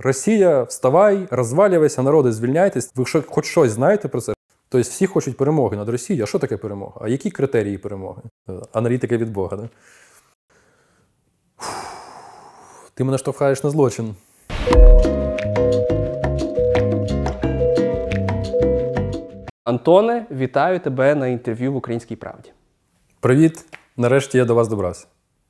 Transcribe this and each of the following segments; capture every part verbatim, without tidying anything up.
Росія, вставай, розвалюйся, народи, звільняйтесь. Ви що, хоч щось знаєте про це? Тобто всі хочуть перемоги над Росією. А що таке перемога? А які критерії перемоги? Аналітика від Бога, да? Ти мене штовхаєш на злочин. Антоне, вітаю тебе на інтерв'ю в «Українській правді». Привіт. Нарешті я до вас добрався.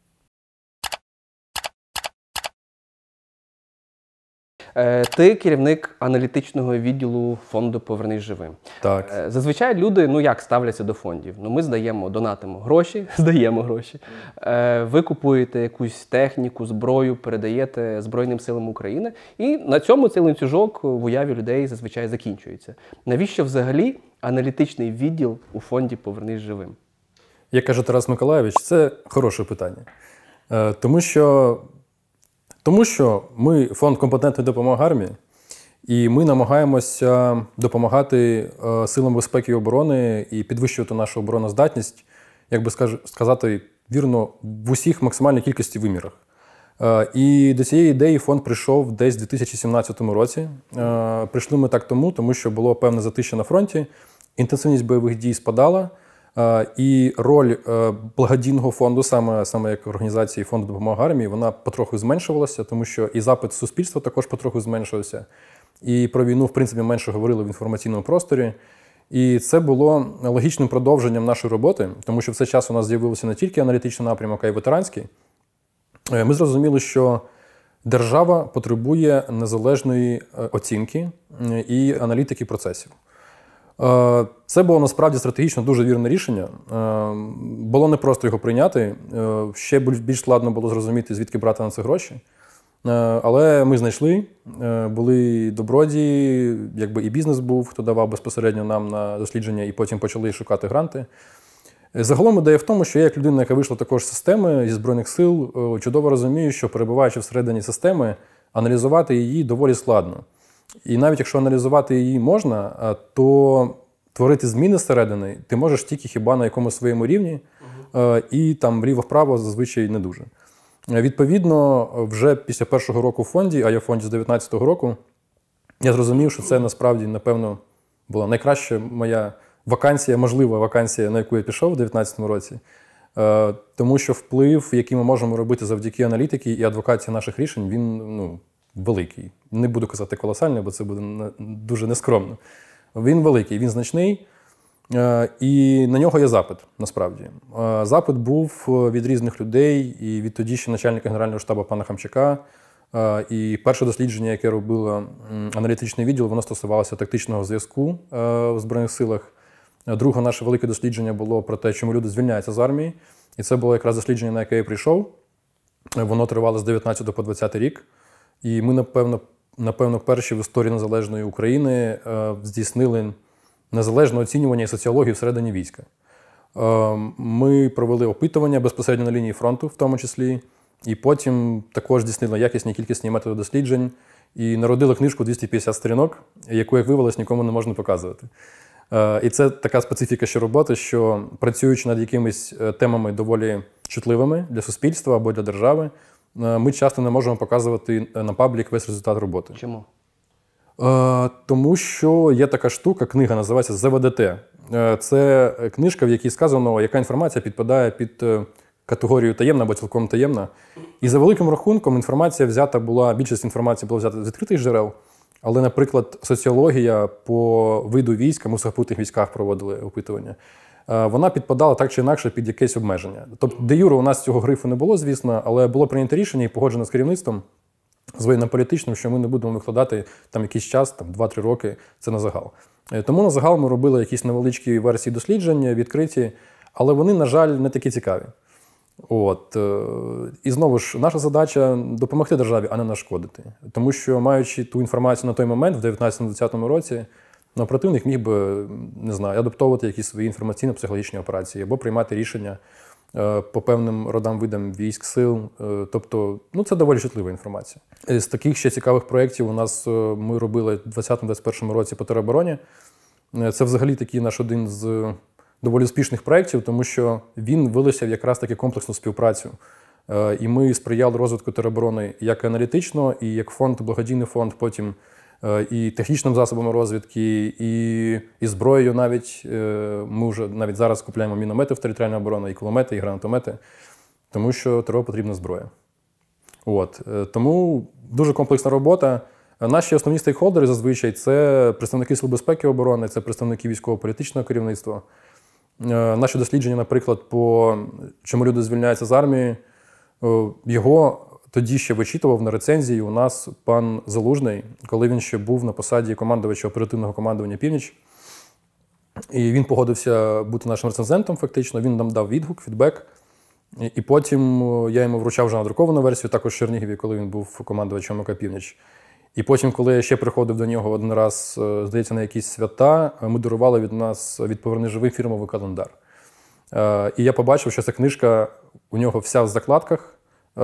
Ти керівник аналітичного відділу фонду «Повернись живим». Так. Зазвичай люди, ну як, ставляться до фондів? Ну ми здаємо, донатимо гроші, здаємо гроші. Ви купуєте якусь техніку, зброю, передаєте Збройним силам України. І на цьому цей ланцюжок в уяві людей зазвичай закінчується. Навіщо взагалі аналітичний відділ у фонді «Повернись живим»? Як каже Тарас Миколайович, це хороше питання. Тому що Тому що ми фонд компетентної допомоги армії, і ми намагаємося допомагати силам безпеки і оборони і підвищувати нашу обороноздатність, як би сказати, вірно, в усіх максимальній кількості вимірах. І до цієї ідеї фонд прийшов десь у дві тисячі сімнадцятому році. Прийшли ми так тому, тому що було певне затища на фронті, інтенсивність бойових дій спадала, і роль благодійного фонду, саме, саме як організації фонду допомоги армії, вона потроху зменшувалася, тому що і запит суспільства також потроху зменшився. І про війну, в принципі, менше говорили в інформаційному просторі. І це було логічним продовженням нашої роботи, тому що в цей час у нас з'явився не тільки аналітичний напрямок, а й ветеранський. Ми зрозуміли, що держава потребує незалежної оцінки і аналітики процесів. Це було насправді стратегічно дуже вірне рішення. Було непросто його прийняти. Ще більш складно було зрозуміти, звідки брати на це гроші. Але ми знайшли, були добродії, якби і бізнес був, хто давав безпосередньо нам на дослідження, і потім почали шукати гранти. Загалом ідея в тому, що я, як людина, яка вийшла також з системи, зі Збройних сил, чудово розумію, що, перебуваючи всередині системи, аналізувати її доволі складно. І навіть якщо аналізувати її можна, то творити зміни зсередини ти можеш тільки хіба на якомусь своєму рівні, uh-huh. і там вліво-вправо зазвичай не дуже. Відповідно, вже після першого року в фонді, а я в фонді з дев'ятнадцятого року, я зрозумів, що це насправді, напевно, була найкраща моя вакансія, можлива вакансія, на яку я пішов у дев'ятнадцятому році. Тому що вплив, який ми можемо робити завдяки аналітиці і адвокації наших рішень, він, ну, великий. Не буду казати колосальний, бо це буде дуже нескромно. Він великий, він значний, і на нього є запит, насправді. Запит був від різних людей, і від тоді ще начальника Генерального штабу пана Хамчака. І перше дослідження, яке робило аналітичний відділ, воно стосувалося тактичного зв'язку в Збройних силах. Друге наше велике дослідження було про те, чому люди звільняються з армії. І це було якраз дослідження, на яке я прийшов. Воно тривало з дев'ятнадцятого по двадцятий рік. І ми, напевно, напевно, перші в історії незалежної України е, здійснили незалежне оцінювання і соціологію всередині війська. Е, ми провели опитування безпосередньо на лінії фронту, в тому числі, і потім також здійснили якісні і кількісні методи досліджень і народили книжку двісті п'ятдесят сторінок, яку, як виявилось, нікому не можна показувати. Е, і це така специфіка ще роботи, що працюючи над якимись темами доволі чутливими для суспільства або для держави, ми часто не можемо показувати на паблік весь результат роботи. Чому? Е, тому що є така штука, книга називається «Зе Ве Де Те». Е, це книжка, в якій сказано, яка інформація підпадає під категорію таємна або цілком таємна. І за великим рахунком інформація взята була, більшість інформації була взята з відкритих джерел, але, наприклад, соціологія по виду війська, ми в сухопутних військах проводили опитування, вона підпадала так чи інакше під якесь обмеження. Тобто, де юре у нас цього грифу не було, звісно, але було прийнято рішення і погоджено з керівництвом, з воєнно-політичним, що ми не будемо викладати там якийсь час, там два-три роки, це на загал. Тому на загал ми робили якісь невеличкі версії дослідження, відкриті, але вони, на жаль, не такі цікаві. От. І знову ж, наша задача – допомогти державі, а не нашкодити. Тому що, маючи ту інформацію на той момент, в дев'ятнадцятому-двадцятому році, ну, противник міг би, не знаю, адаптовувати якісь свої інформаційно-психологічні операції або приймати рішення е, по певним родам, видам військ, сил. Е, тобто, ну, це доволі чутлива інформація. З таких ще цікавих проєктів у нас е, ми робили в двадцятому-двадцять першому році по теробороні. Е, це взагалі такий наш один з доволі успішних проєктів, тому що він вилився в якраз таки комплексну співпрацю І ми сприяли розвитку тероборони як аналітично, і як фонд, благодійний фонд, потім і технічними засобами розвідки, і, і зброєю навіть. Ми вже навіть зараз купуємо міномети в територіальну оборону, і кулемети, і гранатомети, тому що ТРО потрібна зброя. От. Тому дуже комплексна робота. Наші основні стейкхолдери зазвичай це представники Сил безпеки і оборони, це представники військово-політичного керівництва. Наші дослідження, наприклад, по чому люди звільняються з армії, його тоді ще вичитував на рецензії у нас пан Залужний, коли він ще був на посаді командувача оперативного командування «Північ». І він погодився бути нашим рецензентом фактично, він нам дав відгук, фідбек. І потім я йому вручав вже надруковану версію, також в Чернігові, коли він був командувачем ОК «Північ». І потім, коли я ще приходив до нього один раз, здається, на якісь свята, ми дарували від нас від «Поверни живий» фірмовий календар. І я побачив, що ця книжка у нього вся в закладках,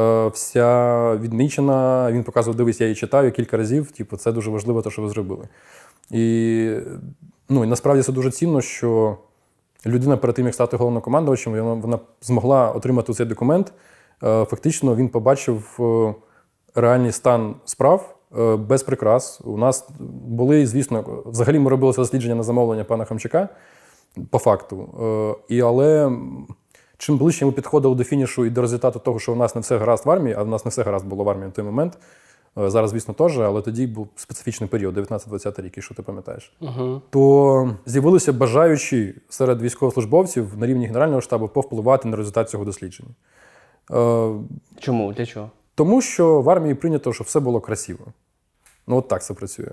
вся відмічена. Він показував, дивись, я її читаю кілька разів, типу, це дуже важливо, те, що ви зробили. І, ну, і насправді це дуже цінно, що людина перед тим, як стати головнокомандувачем, вона, вона змогла отримати цей документ. Фактично він побачив реальний стан справ без прикрас. У нас були, звісно, взагалі ми робили це дослідження на замовлення пана Хомчака, по факту. І, але чим ближче ми підходили до фінішу і до результату того, що у нас не все гаразд в армії, а в нас не все гаразд було в армії на той момент, зараз, звісно, теж, але тоді був специфічний період, дев'ятнадцятий-двадцятий рік, якщо ти пам'ятаєш, uh-huh. то з'явилися бажаючі серед військовослужбовців на рівні Генерального штабу повпливати на результат цього дослідження. Чому? Для чого? Тому що в армії прийнято, щоб все було красиво. Ну, от так це працює.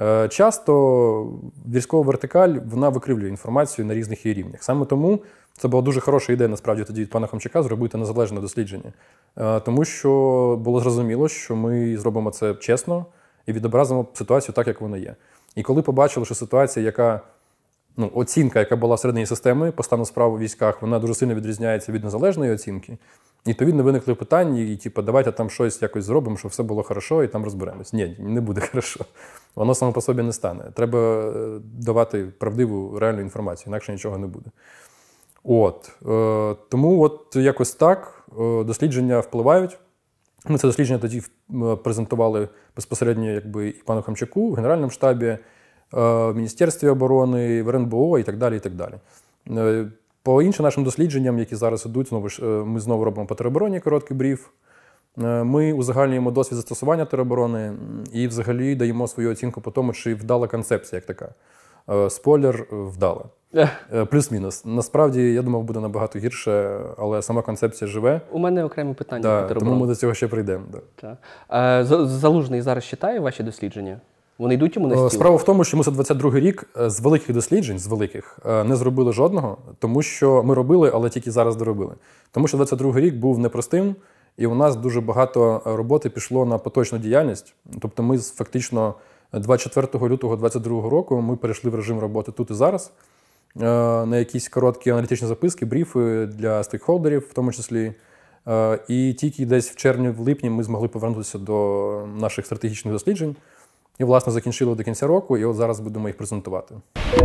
Часто військова вертикаль, вона викривлює інформацію на різних її рівнях. Саме тому це була дуже хороша ідея, насправді, тоді від пана Хомчака зробити незалежне дослідження. Тому що було зрозуміло, що ми зробимо це чесно і відобразимо ситуацію так, як вона є. І коли побачили, що ситуація, яка, ну, оцінка, яка була всередині системи по стану справ у військах, вона дуже сильно відрізняється від незалежної оцінки, і відповідно виникли питання, і типу, давайте там щось якось зробимо, щоб все було хорошо, і там розберемось. Ні, не буде хорошо. Воно само по собі не стане. Треба давати правдиву, реальну інформацію, інакше нічого не буде. От. Е, тому от якось так е, дослідження впливають. Ми це дослідження тоді презентували безпосередньо якби, і пану Хомчаку в Генеральному штабі, е, в Міністерстві оборони, в РНБО і так далі. І так далі. Е, по іншим нашим дослідженням, які зараз ідуть, знову ж, е, ми знову робимо по теробороні короткий бриф. Е, ми узагальнюємо досвід застосування тероборони і взагалі даємо свою оцінку по тому, чи вдала концепція як така. Е, спойлер – вдала. Плюс-мінус. Насправді, я думав, буде набагато гірше, але сама концепція живе. У мене окремі питання. Да, тому ми до цього ще прийдемо. Да. А, Залужний зараз читає ваші дослідження? Вони йдуть йому на стіл? Справа в тому, що ми за двадцять другий рік з великих досліджень, з великих, не зробили жодного, тому що ми робили, але тільки зараз доробили. Тому що двадцять другий рік був непростим, і у нас дуже багато роботи пішло на поточну діяльність. Тобто ми фактично двадцять четвертого лютого двадцять другого року ми перейшли в режим роботи тут і зараз, на якісь короткі аналітичні записки, бріфи для стейкхолдерів в тому числі. І тільки десь в червні-в липні ми змогли повернутися до наших стратегічних досліджень. І, власне, закінчили до кінця року, і от зараз будемо їх презентувати.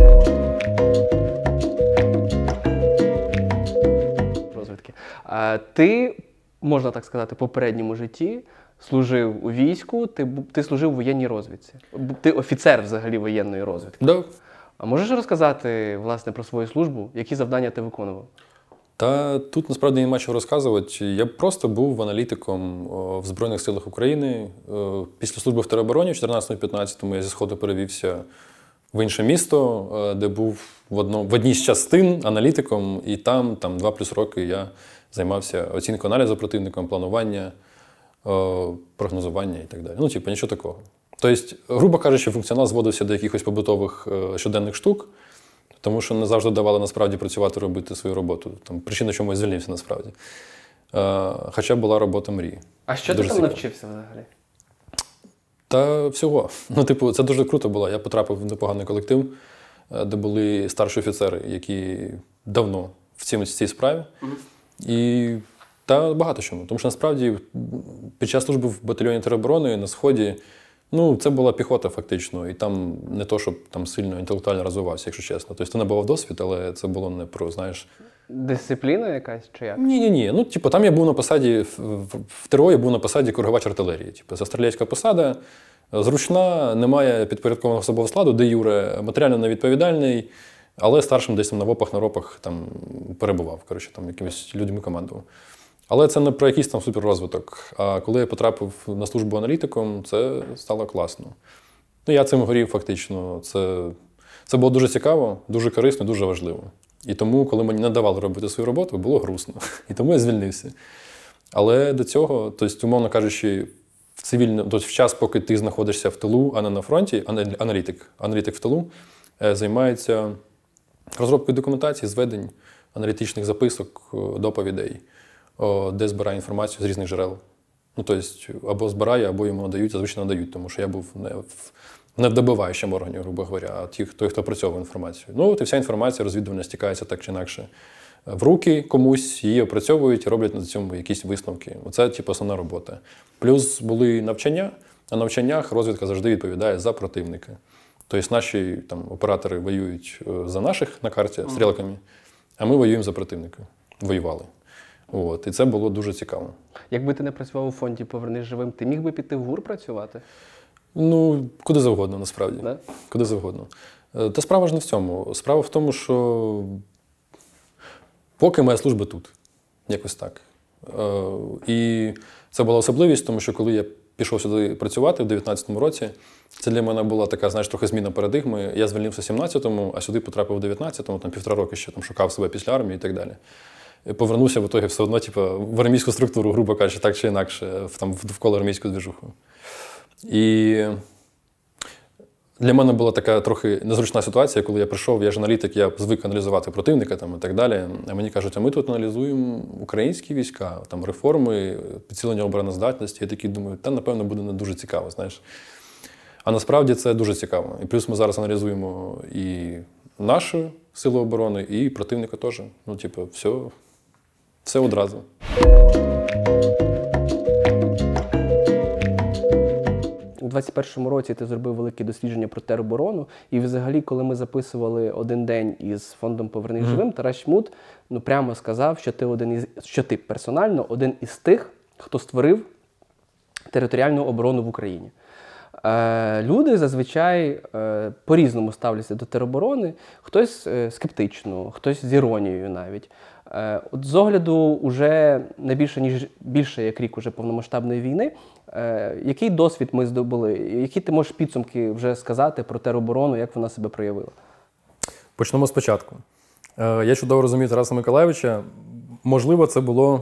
Розвідки. А ти, можна так сказати, в попередньому житті служив у війську, ти, ти служив у воєнній розвідці. Ти офіцер взагалі воєнної розвідки. Да. А можеш розказати, власне, про свою службу? Які завдання ти виконував? Та тут, насправді, нема чого розказувати. Я просто був аналітиком в Збройних силах України. Після служби в теробороні в чотирнадцятому-п'ятнадцятому я зі Сходу перевівся в інше місто, де був в, одно, в одній з частин аналітиком, і там, там два плюс роки я займався оцінкою аналізу противником, планування, прогнозування і так далі. Ну, типу, нічого такого. Тобто, грубо кажучи, функціонал зводився до якихось побутових щоденних штук, тому що не завжди давали насправді працювати, робити свою роботу. Там причина, чому я звільнився насправді. Хоча була робота мрії. А що дуже ти там навчився взагалі? Та всього. Ну, типу, це дуже круто було. Я потрапив в непоганий колектив, де були старші офіцери, які давно в цій, в цій справі. Mm-hmm. І та багато чому. Тому що насправді під час служби в батальйоні тероборони на Сході Ну, це була піхота фактично, і там не то, щоб там сильно інтелектуально розвивався, якщо чесно. Тобто ти набував досвід, але це було не про, знаєш... Дисципліна якась чи як? Ні-ні-ні. Ну, типу, там я був на посаді, в, в, в ТРО я був на посаді коригувач артилерії. Типу, це стрілецька посада, зручна, немає підпорядкованого особового складу, де юре, матеріально невідповідальний, але старшим десь там на ВОПах, на ропах там перебував, коротше, там якимись людьми командував. Але це не про якийсь там суперрозвиток. А коли я потрапив на службу аналітиком, це стало класно. Ну, я цим горів фактично. Це, це було дуже цікаво, дуже корисно, дуже важливо. І тому, коли мені не давали робити свою роботу, було грустно. І тому я звільнився. Але до цього, тобто, умовно кажучи, в цивільному, тобто в час, поки ти знаходишся в тилу, а не на фронті, аналітик, аналітик в тилу займається розробкою документації, зведень, аналітичних записок, доповідей, де збирає інформацію з різних джерел. Ну, тобто, або збирає, або йому надають, зазвичай надають, тому що я був не в, не в добиваючому органі, грубо говоря, а ті, той, хто опрацьовує інформацію. Ну, от і вся інформація розвідувальна стікається так чи інакше в руки комусь, її опрацьовують і роблять на цьому якісь висновки. Оце, типу, основна робота. Плюс були навчання. На навчаннях розвідка завжди відповідає за противника. Тобто наші там, оператори воюють за наших на карті стрілками, а ми воюємо за противника. Воювали. От, і це було дуже цікаво. Якби ти не працював у фонді «Повернись живим», ти міг би піти в ГУР працювати? Ну, куди завгодно, насправді. Да? Куди завгодно. Та справа ж не в цьому. Справа в тому, що поки моя служба тут. Якось так. І це була особливість, тому що коли я пішов сюди працювати в дев'ятнадцятому році, це для мене була така, знаєш, трохи зміна парадигми. Я звільнився в сімнадцятому, а сюди потрапив в дев'ятнадцятому, там півтора роки ще там, шукав себе після армії і так далі. Повернувся в ітогі все одно, типу, в армійську структуру, грубо кажучи, так чи інакше, в, там, вколо армійську движуху. І для мене була така трохи незручна ситуація, коли я прийшов, я ж аналітик, я звик аналізувати противника там, і так далі. А мені кажуть, а ми тут аналізуємо українські війська, там, реформи, підсилення обороноздатності. Я такий думаю, та, напевно, буде не дуже цікаво, знаєш. А насправді це дуже цікаво. І плюс ми зараз аналізуємо і наші сили оборони, і противника теж. Ну, типу, все, все одразу. У двадцять першому році ти зробив велике дослідження про тероборону, і взагалі, коли ми записували один день із фондом «Повернись mm-hmm. живим», Тарас Чмут, ну, прямо сказав, що ти один із, що ти персонально один із тих, хто створив територіальну оборону в Україні. Е, люди зазвичай е, по-різному ставляться до тероборони, хтось е, скептично, хтось з іронією навіть. Е, от з огляду уже не більше, ніж більше як рік уже повномасштабної війни, е, який досвід ми здобули? Які ти можеш підсумки вже сказати про тероборону, як вона себе проявила? Почнемо спочатку. Е, я чудово розумію Тараса Миколайовича. Можливо, це було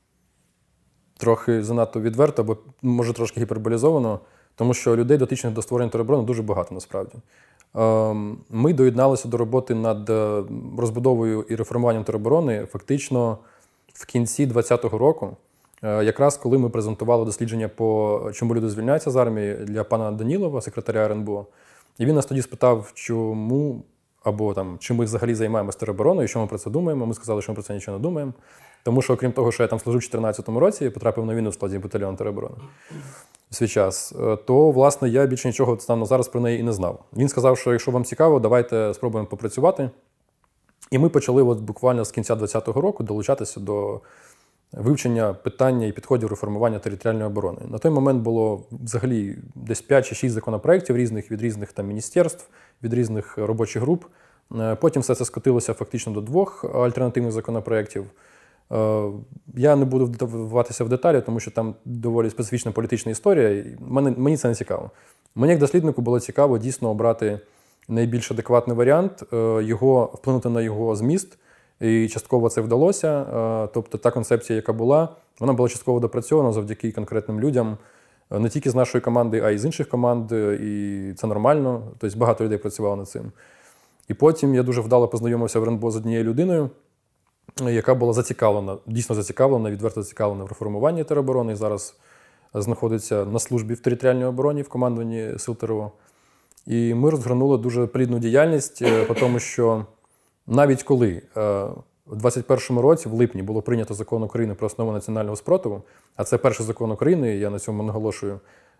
трохи занадто відверто, або, може, трошки гіперболізовано, тому що людей, дотичних до створення тероборони, дуже багато насправді. Ми доєдналися до роботи над розбудовою і реформуванням тероборони фактично в кінці двадцятого року, якраз коли ми презентували дослідження по чому люди звільняються з армії для пана Данілова, секретаря ер ен бе о. І він нас тоді спитав, чому, або там, чи ми взагалі займаємося теробороною, що ми про це думаємо. Ми сказали, що ми про це нічого не думаємо. Тому що, окрім того, що я там служив у дві тисячі чотирнадцятому році і потрапив на війну в складі батальйону тероборони в свій час, то, власне, я більше нічого станом на зараз про неї і не знав. Він сказав, що якщо вам цікаво, давайте спробуємо попрацювати. І ми почали от буквально з кінця двадцятого року долучатися до вивчення питання і підходів реформування територіальної оборони. На той момент було взагалі десь п'ять чи шість законопроєктів різних, від різних там міністерств, від різних робочих груп. Потім все це скотилося фактично до двох альтернативних законопроєктів. Я не буду вдаватися в деталі, тому що там доволі специфічна політична історія, і мені, мені це не цікаво. Мені як досліднику було цікаво дійсно обрати найбільш адекватний варіант, його, вплинути на його зміст, і частково це вдалося. Тобто та концепція, яка була, вона була частково допрацьована завдяки конкретним людям, не тільки з нашої команди, а й з інших команд, і це нормально, тобто багато людей працювало над цим. І потім я дуже вдало познайомився в ер ен бе о з однією людиною, яка була зацікавлена, дійсно зацікавлена, відверто зацікавлена в реформуванні тероборони, і зараз знаходиться на службі в територіальній обороні, в командуванні сил те ер о. І ми розгорнули дуже плідну діяльність, тому що навіть коли у двадцять першому році, в липні, було прийнято закон України про основи національного спротиву, а це перший закон України, я на цьому наголошую,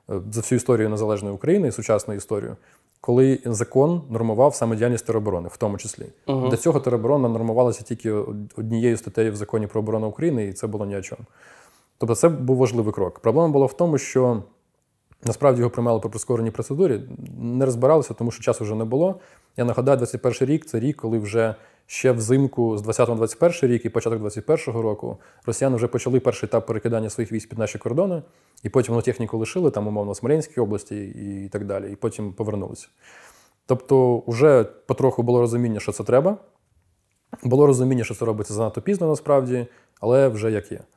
за всю історію незалежної України, сучасну історію, коли закон нормував саме діяльність тероборони, в тому числі. Угу. До цього тероборона нормувалася тільки однією статтею в Законі про оборону України, і це було ні о чому. Тобто це був важливий крок. Проблема була в тому, що насправді його приймали по прискореній процедурі, не розбиралися, тому що часу вже не було. Я нагадаю, двадцять перший рік – це рік, коли вже ще взимку з двадцятого на двадцять перший рік і початок двадцять першого року росіяни вже почали перший етап перекидання своїх військ під наші кордони, і потім вони техніку лишили, там, умовно, в Смоленській області і так далі, і потім повернулися. Тобто вже потроху було розуміння, що це треба. Було розуміння, що це робиться занадто пізно насправді, але вже як є.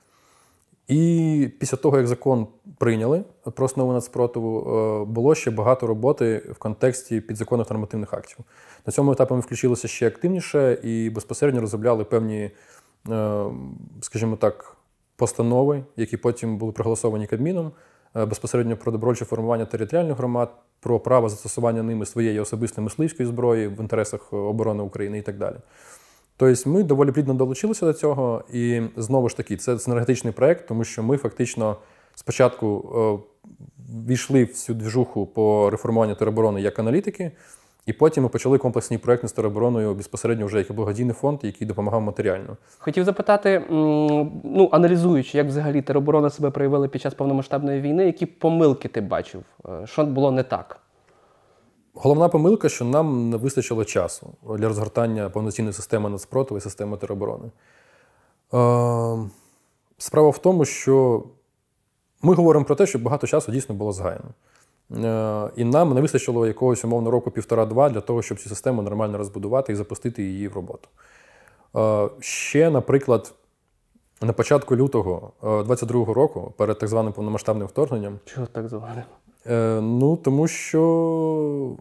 І після того, як закон прийняли про основу нацпротиву, було ще багато роботи в контексті підзаконних нормативних актів. На цьому етапі ми включилися ще активніше і безпосередньо розробляли певні, скажімо так, постанови, які потім були проголосовані Кабміном, безпосередньо про добровольче формування територіальних громад, про право застосування ними своєї особистої мисливської зброї в інтересах оборони України і так далі. Тобто ми доволі плідно долучилися до цього, і знову ж таки, це синергетичний проєкт, тому що ми фактично спочатку е, війшли в цю движуху по реформуванню тероборони як аналітики, і потім ми почали комплексний проєкт з теробороною безпосередньо вже як благодійний фонд, який допомагав матеріально. Хотів запитати, ну, аналізуючи, як взагалі тероборона себе проявила під час повномасштабної війни, які помилки ти бачив? Що було не так? Головна помилка, що нам не вистачило часу для розгортання повноцінної системи нацпротиву і системи тероборони. Е, справа в тому, що ми говоримо про те, що багато часу дійсно було згаяно. Е, і нам не вистачило якогось, умовно, року півтора-два для того, щоб цю систему нормально розбудувати і запустити її в роботу. Е, ще, наприклад, на початку лютого двадцять другого року, перед так званим повномасштабним вторгненням. Чого так званим? Е, ну, тому що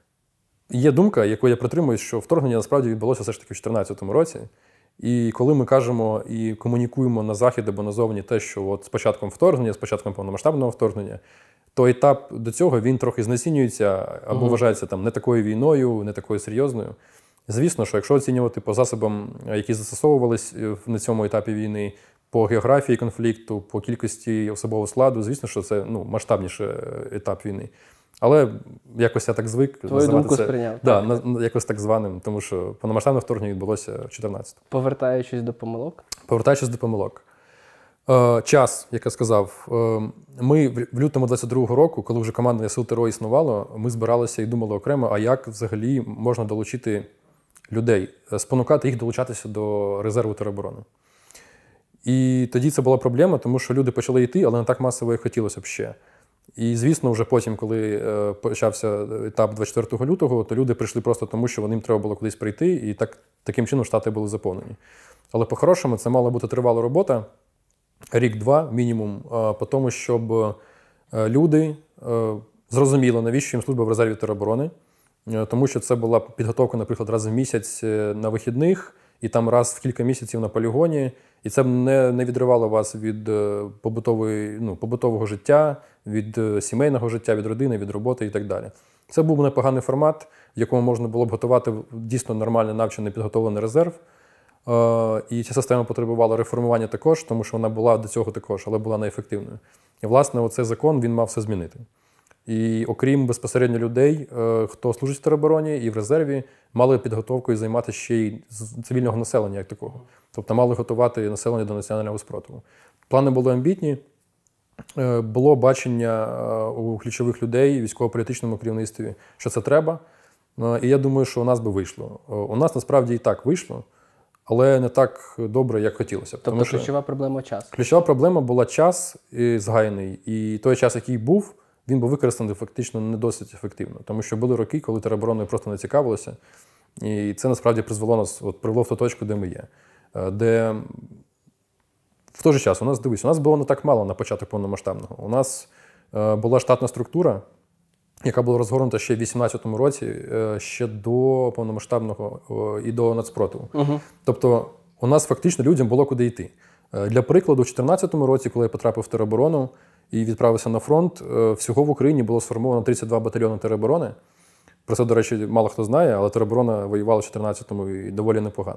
є думка, яку я притримуюсь, що вторгнення насправді відбулося все ж таки в дві тисячі чотирнадцятому році. І коли ми кажемо і комунікуємо на Захід або назовні те, що от з початком вторгнення, з початком повномасштабного вторгнення, то етап до цього він трохи знецінюється або угу. вважається там не такою війною, не такою серйозною. Звісно, що якщо оцінювати по засобам, які застосовувались на цьому етапі війни, по географії конфлікту, по кількості особового складу, звісно, що це ну, масштабніший етап війни. Але якось я так звик. Твою думку це, сприйняв. Да, на, якось так званим, тому що повномасштабне вторгнення відбулося в чотирнадцятому. Повертаючись до помилок? Повертаючись до помилок. Е, час, як я сказав, е, ми в лютому двадцять другого року, коли вже командування Сил ТРО існувало, ми збиралися і думали окремо, а як взагалі можна долучити людей, спонукати їх долучатися до резерву тероборони. І тоді це була проблема, тому що люди почали йти, але не так масово, як хотілося б ще. І, звісно, вже потім, коли е, почався етап двадцять четвертого лютого, то люди прийшли просто тому, що їм треба було кудись прийти, і так, таким чином штати були заповнені. Але по-хорошому це мала бути тривала робота, рік-два мінімум, е, по тому, щоб е, люди е, зрозуміли, навіщо їм служба в резерві тероборони, е, тому що це була підготовка, наприклад, раз в місяць на вихідних, і там раз в кілька місяців на полігоні, і це не, не відривало вас від побутової, ну, побутового життя, від сімейного життя, від родини, від роботи і так далі. Це був непоганий формат, в якому можна було б готувати дійсно нормальний навчений, підготовлений резерв. І ця система потребувала реформування також, тому що вона була до цього також, але була неефективною. І, власне, оцей закон, він мав все змінити. І окрім безпосередньо людей, хто служить в теробороні і в резерві, мали підготовкою займатися ще й цивільного населення як такого. Тобто мали готувати населення до національного спротиву. Плани були амбітні, було бачення у ключових людей, військово-політичному керівництві, що це треба. І я думаю, що у нас би вийшло. У нас насправді і так вийшло, але не так добре, як хотілося б. Тобто Тому що ключова проблема – час? Ключова проблема була час згаяний. І той час, який був, він був використаний фактично не досить ефективно. Тому що були роки, коли теробороною просто не цікавилося. І це насправді призвело нас, от, привело в ту точку, де ми є. Де в той же час у нас, дивись, у нас було не так мало на початок повномасштабного. У нас е, була штатна структура, яка була розгорнута ще в вісімнадцятому році, е, ще до повномасштабного е, і до нацпротиву. Угу. Тобто у нас фактично людям було куди йти. Е, для прикладу, в чотирнадцятому році, коли я потрапив в тероборону і відправився на фронт, е, всього в Україні було сформовано тридцять два батальйони тероборони. Про це, до речі, мало хто знає, але тероборона воювала в чотирнадцятому і доволі непогано.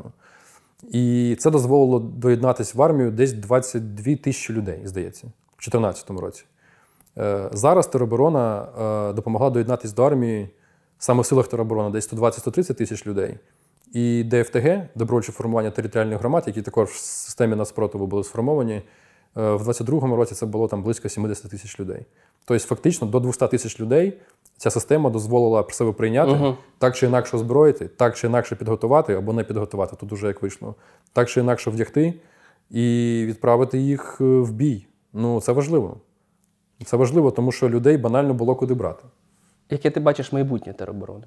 І це дозволило доєднатися в армію десь двадцять дві тисячі людей, здається, в чотирнадцятому році. Зараз тероборона допомогла доєднатися до армії саме в силах тероборони десь сто двадцять - сто тридцять тисяч людей. І ДФТГ, добровольче формування територіальних громад, які також в системі нацпротиву були сформовані, в двадцять другому році це було там близько сімдесят тисяч людей. Тобто фактично до двохсот тисяч людей ця система дозволила про себе прийняти, угу. так чи інакше озброїти, так чи інакше підготувати або не підготувати, тут уже як вийшло, так чи інакше вдягти і відправити їх в бій. Ну, це важливо. Це важливо, тому що людей банально було куди брати. Яке ти бачиш майбутнє тероборони?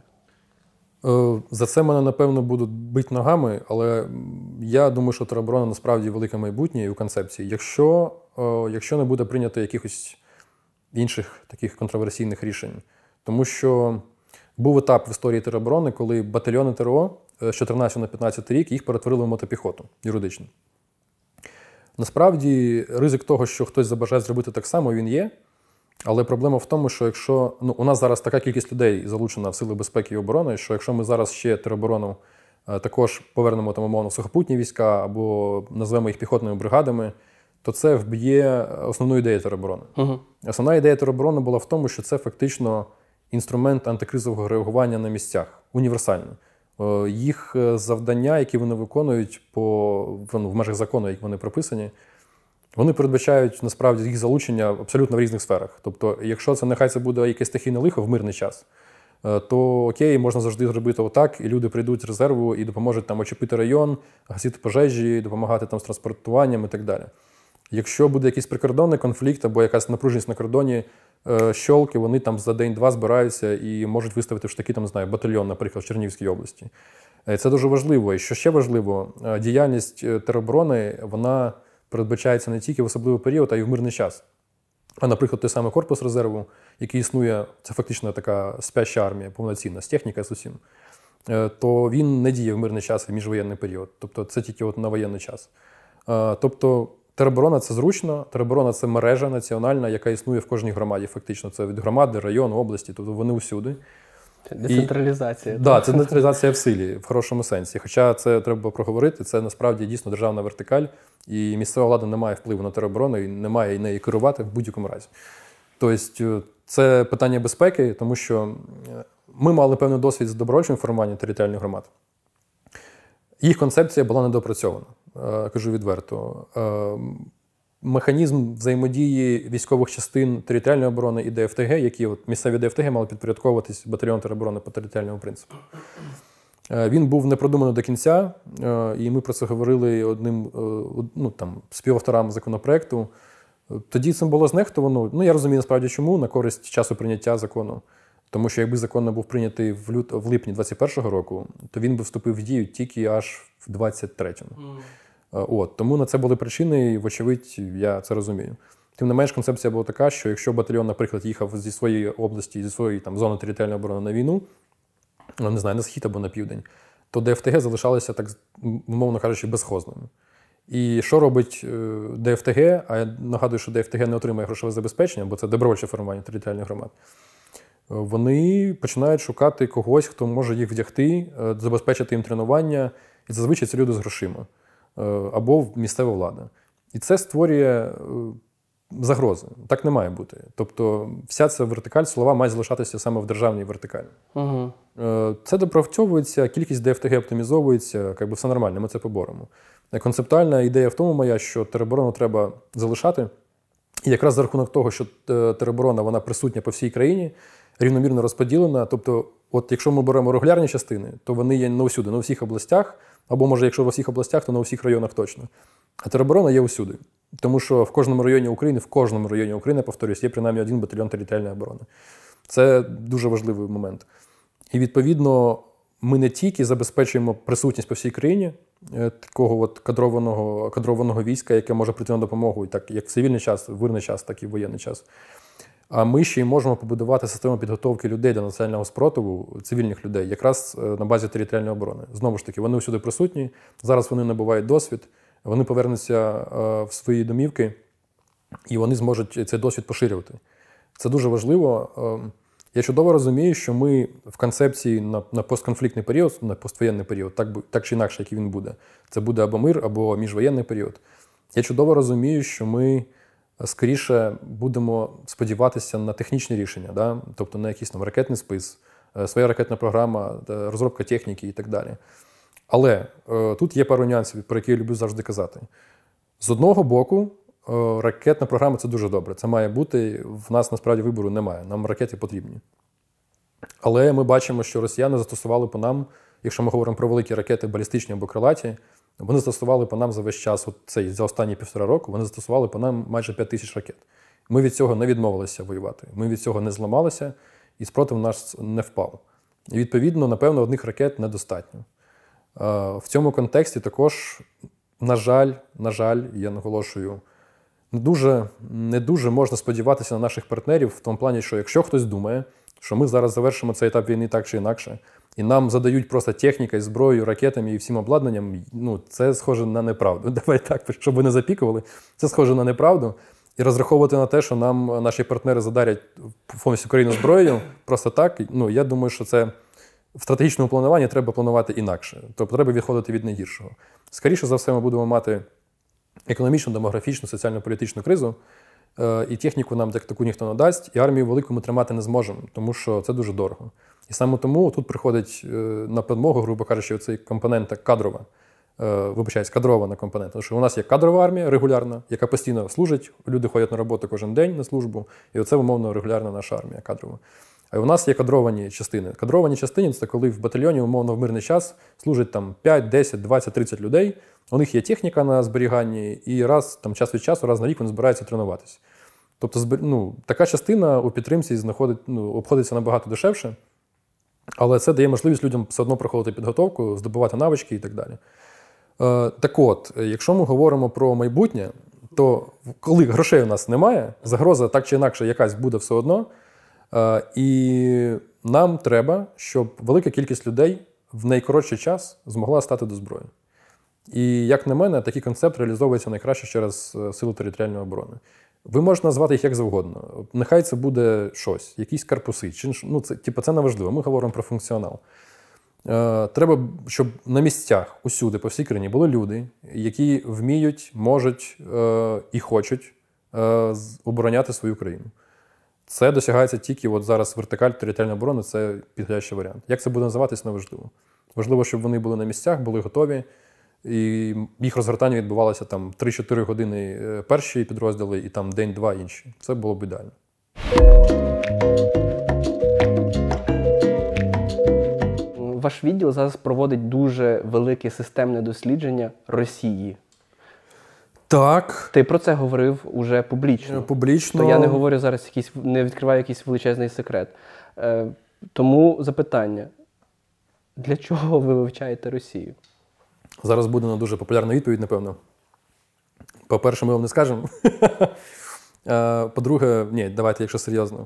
За це мене, напевно, будуть бити ногами, але я думаю, що тероборона насправді велике майбутнє і у концепції. Якщо, якщо не буде прийнято якихось інших таких контроверсійних рішень. Тому що був етап в історії тероборони, коли батальйони ТРО з чотирнадцятого на п'ятнадцятий рік їх перетворили в мотопіхоту юридично. Насправді, ризик того, що хтось забажає зробити так само, він є. Але проблема в тому, що якщо ну, у нас зараз така кількість людей залучена в Сили безпеки і оборони, що якщо ми зараз ще тероборону е, також повернемо там, умовно, в сухопутні війська або назвемо їх піхотними бригадами, то це вб'є основну ідею тероборони. Угу. Основна ідея тероборони була в тому, що це фактично інструмент антикризового реагування на місцях, універсально. Е, їх завдання, які вони виконують по, ну, в межах закону, як вони прописані, вони передбачають, насправді, їх залучення абсолютно в різних сферах. Тобто, якщо це нехай це буде якесь стихійне лихо в мирний час, то окей, можна завжди зробити отак, і люди прийдуть з резерву і допоможуть там очепити район, гасити пожежі, допомагати там з транспортуванням і так далі. Якщо буде якийсь прикордонний конфлікт або якась напруженість на кордоні, щолки, вони там за день-два збираються і можуть виставити в штаки, там, не знаю, батальйон, наприклад, в Чернігівській області. Це дуже важливо. І що ще важливо, діяльність тероборони, вона передбачається не тільки в особливий період, а й в мирний час. А, наприклад, той самий корпус резерву, який існує, це фактично така спяща армія, повноцінна, з технікою, з усім, то він не діє в мирний час і міжвоєнний період. Тобто це тільки от на воєнний час. Тобто тероборона – це зручно, тероборона – це мережа національна, яка існує в кожній громаді, фактично. Це від громади, району, області, тобто вони усюди. Децентралізація. Так, да, це децентралізація в силі, в хорошому сенсі. Хоча це треба проговорити, це насправді дійсно державна вертикаль, і місцева влада не має впливу на тероборону, і не має неї керувати в будь-якому разі. Тобто це питання безпеки, тому що ми мали певний досвід з добровольчим формуванням територіальних громад. Їх концепція була недопрацьована, кажу відверто. Механізм взаємодії військових частин територіальної оборони і ДФТГ, які от, місцеві ДФТГ мали підпорядковуватись батальйону тероборони по територіальному принципу. Він був не продуманий до кінця, і ми про це говорили одним ну, там, співавторам законопроекту. Тоді цим було знехтовано. Ну, я розумію, насправді, чому, на користь часу прийняття закону. Тому що якби закон не був прийнятий в, лют... в липні двадцять першого року, то він би вступив в дію тільки аж в двадцять третьому. Mm. От, тому на це були причини, і, вочевидь, я це розумію. Тим не менш, концепція була така, що якщо батальйон, наприклад, їхав зі своєї області, зі своєї там, зони територіальної оборони на війну, ну, не знаю, на схід або на південь, то ДФТГ залишалися, так, умовно кажучи, безхозними. І що робить ДФТГ? А я нагадую, що ДФТГ не отримує грошове забезпечення, бо це добровольче формування територіальних громад. Вони починають шукати когось, хто може їх вдягти, забезпечити їм тренування, і зазвичай це люди з грошима або місцева влада. І це створює загрози. Так не має бути. Тобто вся ця вертикаль силова має залишатися саме в державній вертикалі. Угу. Це допрацьовується, кількість ДФТГ оптимізовується, якби все нормально, ми це поборемо. Концептуальна ідея в тому моя, що тероборону треба залишати. І якраз за рахунок того, що тероборона вона присутня по всій країні, рівномірно розподілена. Тобто, от якщо ми беремо регулярні частини, то вони є не усюди, не у всіх областях, або, може, якщо в усіх областях, то не у всіх районах точно. А тероборона є усюди. Тому що в кожному районі України, в кожному районі України, повторюсь, є принаймні один батальйон територіальної оборони. Це дуже важливий момент. І, відповідно, ми не тільки забезпечуємо присутність по всій країні такого от кадрованого, кадрованого війська, яке може прийти на допомогу так, як в цивільний час, в мирний час, так і в воєнний час. А ми ще й можемо побудувати систему підготовки людей до національного спротиву, цивільних людей, якраз на базі територіальної оборони. Знову ж таки, вони усюди присутні, зараз вони набувають досвід, вони повернуться в свої домівки, і вони зможуть цей досвід поширювати. Це дуже важливо. Я чудово розумію, що ми в концепції на, на постконфліктний період, на поствоєнний період, так, так чи інакше, який він буде, це буде або мир, або міжвоєнний період. Я чудово розумію, що ми скоріше будемо сподіватися на технічні рішення, да? Тобто на якийсь там ракетний спис, своя ракетна програма, розробка техніки і так далі. Але е, тут є пару нюансів, про які я люблю завжди казати. З одного боку, е, ракетна програма – це дуже добре. Це має бути, в нас насправді вибору немає, нам ракети потрібні. Але ми бачимо, що росіяни застосували по нам, якщо ми говоримо про великі ракети балістичні або крилаті, вони застосували по нам за весь час, от цей, за останні півтора року, вони застосували по нам майже п'ять тисяч ракет. Ми від цього не відмовилися воювати, ми від цього не зламалися, і спротив наш не впав. І відповідно, напевно, одних ракет недостатньо. В цьому контексті також, на жаль, на жаль, я наголошую, не дуже, не дуже можна сподіватися на наших партнерів в тому плані, що якщо хтось думає, що ми зараз завершимо цей етап війни так чи інакше, і нам задають просто технікою, зброєю, ракетами і всім обладнанням, ну, це схоже на неправду. Давай так, щоб ви не запікували, це схоже на неправду. І розраховувати на те, що нам наші партнери задарять повністю країну зброєю, просто так, ну, я думаю, що це в стратегічному плануванні треба планувати інакше. Тобто треба відходити від найгіршого. Скоріше за все, ми будемо мати економічну, демографічну, соціально-політичну кризу, і техніку нам таку ніхто не дасть, і армію велику ми тримати не зможемо, тому що це дуже дорого. І саме тому тут приходить на підмогу, грубо кажучи, оцей компонент кадрова, вибачаюсь, кадрована компонента. Тому що у нас є кадрова армія регулярна, яка постійно служить, люди ходять на роботу кожен день на службу, і оце, умовно, регулярна наша армія кадрова. А у нас є кадровані частини. Кадровані частини – це коли в батальйоні, умовно, в мирний час служить там п'ять, десять, двадцять, тридцять людей, у них є техніка на зберіганні, і раз, там, час від часу, раз на рік вони збираються тренуватися. Тобто, ну, така частина у підтримці знаходить, ну, обходиться набагато дешевше, але це дає можливість людям все одно проходити підготовку, здобувати навички і так далі. Е, так от, якщо ми говоримо про майбутнє, то коли грошей у нас немає, загроза так чи інакше якась буде все одно, е, і нам треба, щоб велика кількість людей в найкоротший час змогла стати до зброї. І, як на мене, такий концепт реалізовується найкраще через Сили територіальної оборони. Ви можете назвати їх як завгодно. Нехай це буде щось, якісь корпуси. Чи, ну, це, типу, це не важливо, ми говоримо про функціонал. Е, треба, щоб на місцях, усюди, по всій країні, були люди, які вміють, можуть е, і хочуть е, обороняти свою країну. Це досягається тільки от зараз вертикаль територіальної оборони, це підходящий варіант. Як це буде називатись, не важливо. Важливо, щоб вони були на місцях, були готові, і їх розгортання відбувалося там три-чотири години перші підрозділи і там день-два інші. Це було б ідеально. Ваш відділ зараз проводить дуже велике системне дослідження Росії. Так. Ти про це говорив уже публічно. Публічно. То я не говорю зараз, якийсь, не відкриваю якийсь величезний секрет. Е, тому запитання. Для чого ви вивчаєте Росію? Зараз буде на дуже популярна відповідь, напевно. По-перше, ми вам не скажемо. По-друге, ні, давайте, якщо серйозно.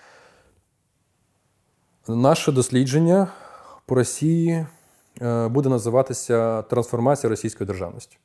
Наше дослідження по Росії буде називатися «Трансформація російської державності».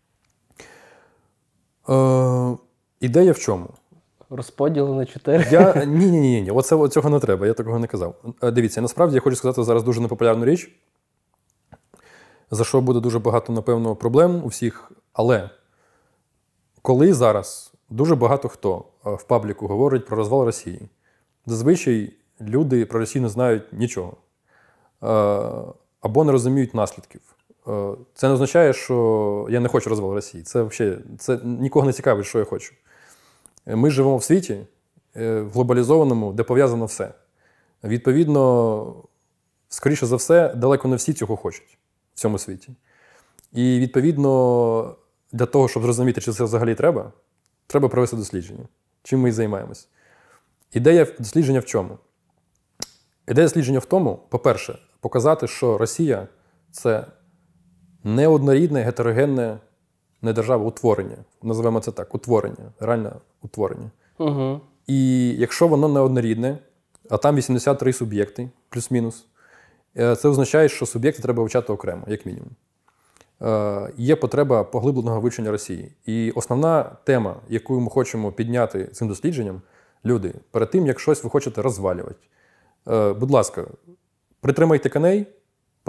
Ідея в чому? Розподіл на чотири? Я... Ні, ні, ні, ні. Оце, цього не треба, я такого не казав. Дивіться, насправді я хочу сказати зараз дуже непопулярну річ, за що буде дуже багато, напевно, проблем у всіх. Але коли зараз дуже багато хто в пабліку говорить про розвал Росії, зазвичай люди про Росію не знають нічого. Або не розуміють наслідків. Це не означає, що я не хочу розвалу Росії. Це взагалі, це нікого не цікавить, що я хочу. Ми живемо в світі, в глобалізованому, де пов'язано все. Відповідно, скоріше за все, далеко не всі цього хочуть в цьому світі. І, відповідно, для того, щоб зрозуміти, чи це взагалі треба, треба провести дослідження. Чим ми і займаємось. Ідея дослідження в чому? Ідея дослідження в тому, по-перше, показати, що Росія – це неоднорідне, гетерогенне, не держава, утворення. Називаємо це так, утворення, реальне утворення. Угу. І якщо воно неоднорідне, а там вісімдесят три суб'єкти, плюс-мінус, це означає, що суб'єкти треба вивчати окремо, як мінімум. Є потреба поглибленого вивчення Росії. І основна тема, яку ми хочемо підняти цим дослідженням, люди, перед тим, як щось ви хочете розвалювати, будь ласка, притримайте коней,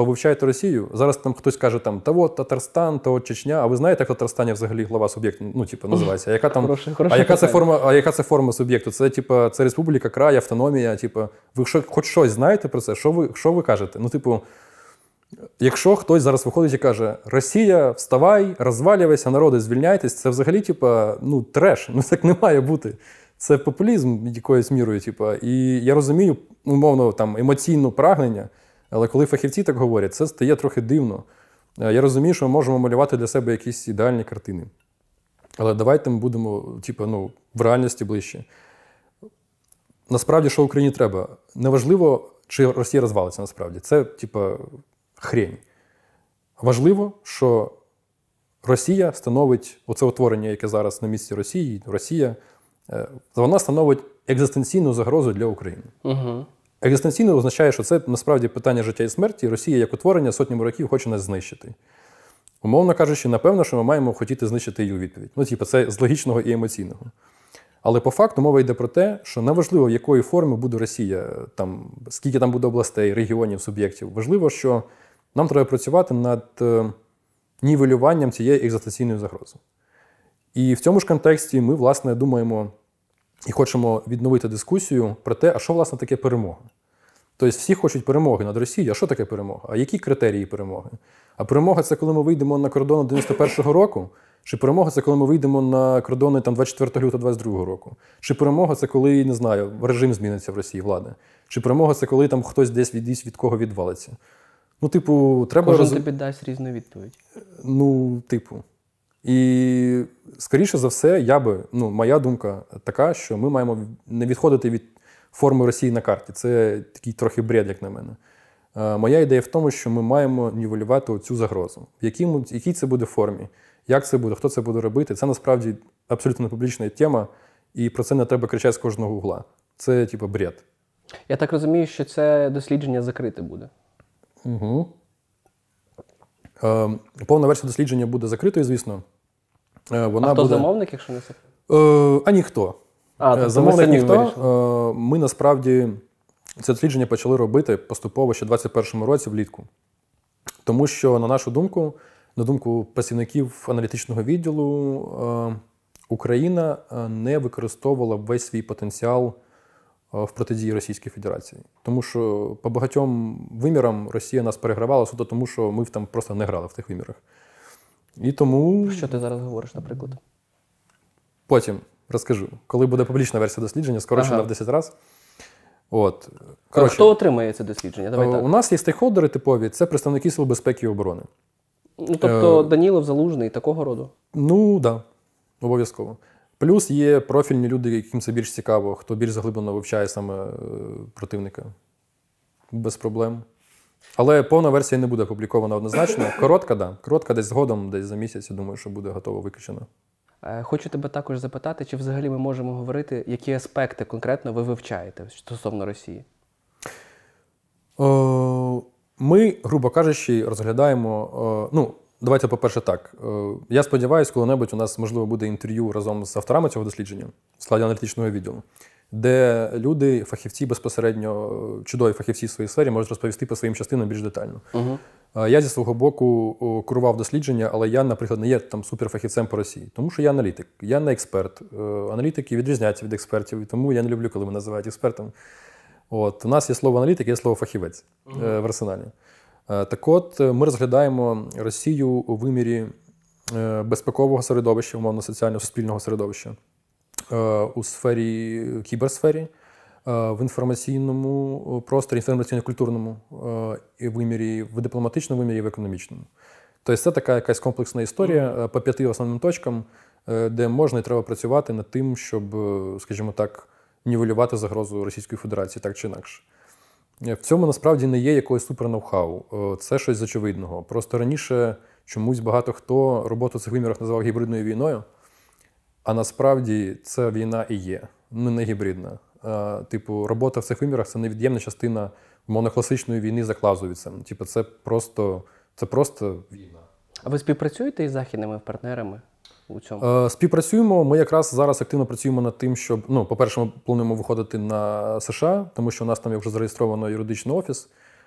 повивчайте Росію. Зараз там хтось каже, там, та от Татарстан, то от Чечня. А ви знаєте, як в Татарстані взагалі глава суб'єкту, ну, типу, називається? А яка там, Хороше- хороше а яка це питання. форма, а яка це форма суб'єкту? Це, типу, це республіка, край, автономія, типу, ви що, хоч щось знаєте про це? Що ви, що ви кажете? Ну, типу, якщо хтось зараз виходить і каже, Росія, вставай, розвалюйся, народи, звільняйтесь, це взагалі, типу, ну, треш, ну, так не має бути. Це популізм якоюсь мірою, типу. І я розумію, умовно, там, емоційне прагнення, але коли фахівці так говорять, це стає трохи дивно. Я розумію, що ми можемо малювати для себе якісь ідеальні картини. Але давайте ми будемо, типу, ну, в реальності ближче. Насправді, що Україні треба? Неважливо, чи Росія розвалиться, насправді. Це, типу, хрень. Важливо, що Росія становить оце утворення, яке зараз на місці Росії, Росія, е, вона становить екзистенційну загрозу для України. Угу. Екзистенційно означає, що це насправді питання життя і смерті, і Росія як утворення сотнями років хоче нас знищити. Умовно кажучи, напевно, що ми маємо хотіти знищити її у відповідь. Ну, типу, це з логічного і емоційного. Але по факту мова йде про те, що неважливо, в якої форми буде Росія, там, скільки там буде областей, регіонів, суб'єктів. Важливо, що нам треба працювати над е, нівелюванням цієї екзистенційної загрози. І в цьому ж контексті ми, власне, думаємо і хочемо відновити дискусію про те, а що, власне, таке перемога. Тобто всі хочуть перемоги над Росією. А що таке перемога? А які критерії перемоги? А перемога – це коли ми вийдемо на кордони дев'яносто першого року? Чи перемога – це коли ми вийдемо на кордони там, двадцять четвертого лютого двадцять другого року? Чи перемога – це коли, не знаю, режим зміниться в Росії, влада? Чи перемога – це коли там хтось десь від, від кого відвалиться? Ну, типу, треба... Кожен роз... тобі дасть різну відповідь. Ну, типу. І, скоріше за все, я би, ну, моя думка така, що ми маємо не відходити від форми Росії на карті. Це такий трохи бред, як на мене. Е, моя ідея в тому, що ми маємо нівелювати цю загрозу. В якій, в якій це буде формі, як це буде, хто це буде робити. Це насправді абсолютно публічна тема, і про це не треба кричати з кожного угла. Це, типу, бред. Я так розумію, що це дослідження закрите буде. Угу. Е, повна версія дослідження буде закритою, звісно. Е, вона а хто буде... замовник, якщо не секрет? Е, а ніхто. А, тобто Замовник ми ніхто. вирішили. Е, Ми насправді це дослідження почали робити поступово ще в двадцять першому році влітку. Тому що, на нашу думку, на думку працівників аналітичного відділу, е, Україна не використовувала весь свій потенціал в протидії Російській Федерації. Тому що по багатьом вимірам Росія нас перегравала суто тому, що ми там просто не грали в тих вимірах. І тому... Що ти зараз говориш, наприклад? Потім розкажу. Коли буде публічна версія дослідження, скорочена Ага. в десять разів. От. Коротше, хто отримає це дослідження? Давай у так. нас є стейкхолдери типові, це представники Сил безпеки і оборони. Ну, тобто е, Данілов, Залужний, такого роду? Ну, так, да, обов'язково. Плюс є профільні люди, яким це більш цікаво, хто більш заглиблено вивчає саме е, противника. Без проблем. Але повна версія не буде опублікована однозначно. Коротка, так. Да. Коротка десь згодом, десь за місяць, я думаю, що буде готово виключено. Е, Хочу тебе також запитати, чи взагалі ми можемо говорити, які аспекти конкретно ви вивчаєте стосовно Росії? Е, Ми, грубо кажучи, розглядаємо. е, Ну, давайте, по-перше, так. Е, Я сподіваюся, коли-небудь у нас, можливо, буде інтерв'ю разом з авторами цього дослідження в складі аналітичного відділу, де люди, фахівці безпосередньо, е, чудові фахівці в своїй сфері, можуть розповісти по своїм частинам більш детально. Угу. Е, Я зі свого боку о, курував дослідження, але я, наприклад, не є там суперфахівцем по Росії, тому що я аналітик, я не експерт. Е, Аналітики відрізняються від експертів, і тому я не люблю, коли мене називають експертом. От, у нас є слово аналітик, є слово фахівець uh-huh. е, в арсеналі. Е, так от, ми розглядаємо Росію у вимірі е, безпекового середовища, умовно соціального суспільного середовища, е, у сфері кіберсфері, е, в інформаційному просторі, інформаційно-культурному е, і вимірі, в дипломатичному вимірі і в економічному. Тобто це така якась комплексна історія uh-huh. по п'яти основним точкам, е, де можна і треба працювати над тим, щоб, скажімо так, нівелювати загрозу Російської Федерації так чи інакше. В цьому насправді не є якогось супер-ноу-хау. Це щось з очевидного. Просто раніше чомусь багато хто роботу в цих вимірах називав гібридною війною, а насправді це війна і є, ну не гібридна. Типу, робота в цих вимірах – це невід'ємна частина монокласичної війни за Клаузевіцем. Типу, це просто, це просто війна. А ви співпрацюєте із західними партнерами у цьому? Співпрацюємо. Ми якраз зараз активно працюємо над тим, щоб, ну, по-перше, ми плануємо виходити на США, тому що у нас там є вже зареєстровано юридичний офіс.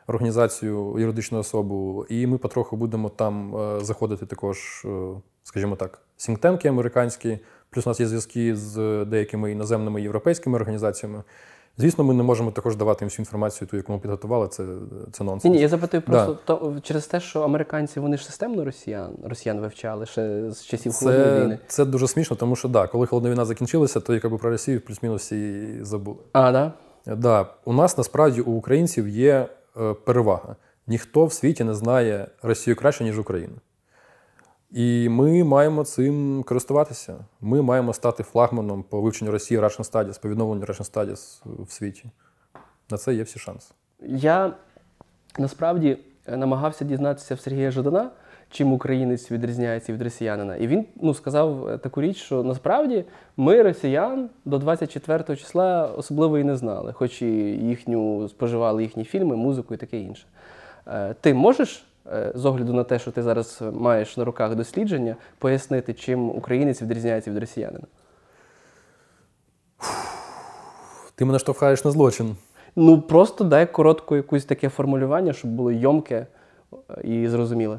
організацію, юридичну особу, і ми потроху будемо там заходити також, скажімо так, сінктенки американські, плюс у нас є зв'язки з деякими іноземними європейськими організаціями. Звісно, ми не можемо також давати їм всю інформацію, ту, яку ми підготували, це, це нонсенс. Ні, ні, я запитую просто да. то, через те, що американці, вони ж системно росіян, росіян вивчали ще з часів це, Холодної війни. Це дуже смішно, тому що, да, коли Холодна війна закінчилася, то якби про Росію плюс-мінус всі забули. А, да? Да. У нас, насправді, у українців є е, перевага. Ніхто в світі не знає Росію краще, ніж Україну. І ми маємо цим користуватися. Ми маємо стати флагманом по вивченню Росії Russian Studies, по відновленню Russian Studies в світі. На це є всі шанси. Я насправді намагався дізнатися в Сергія Жадана, чим українець відрізняється від росіянина. І він ну, сказав таку річ, що насправді ми росіян до двадцять четвертого числа особливо і не знали, хоч і їхню споживали їхні фільми, музику і таке інше. Ти можеш, з огляду на те, що ти зараз маєш на руках дослідження, пояснити, чим українець відрізняється від росіянина? Ти мене штовхаєш на злочин. Ну, просто дай коротко якусь таке формулювання, щоб було йомке і зрозуміле.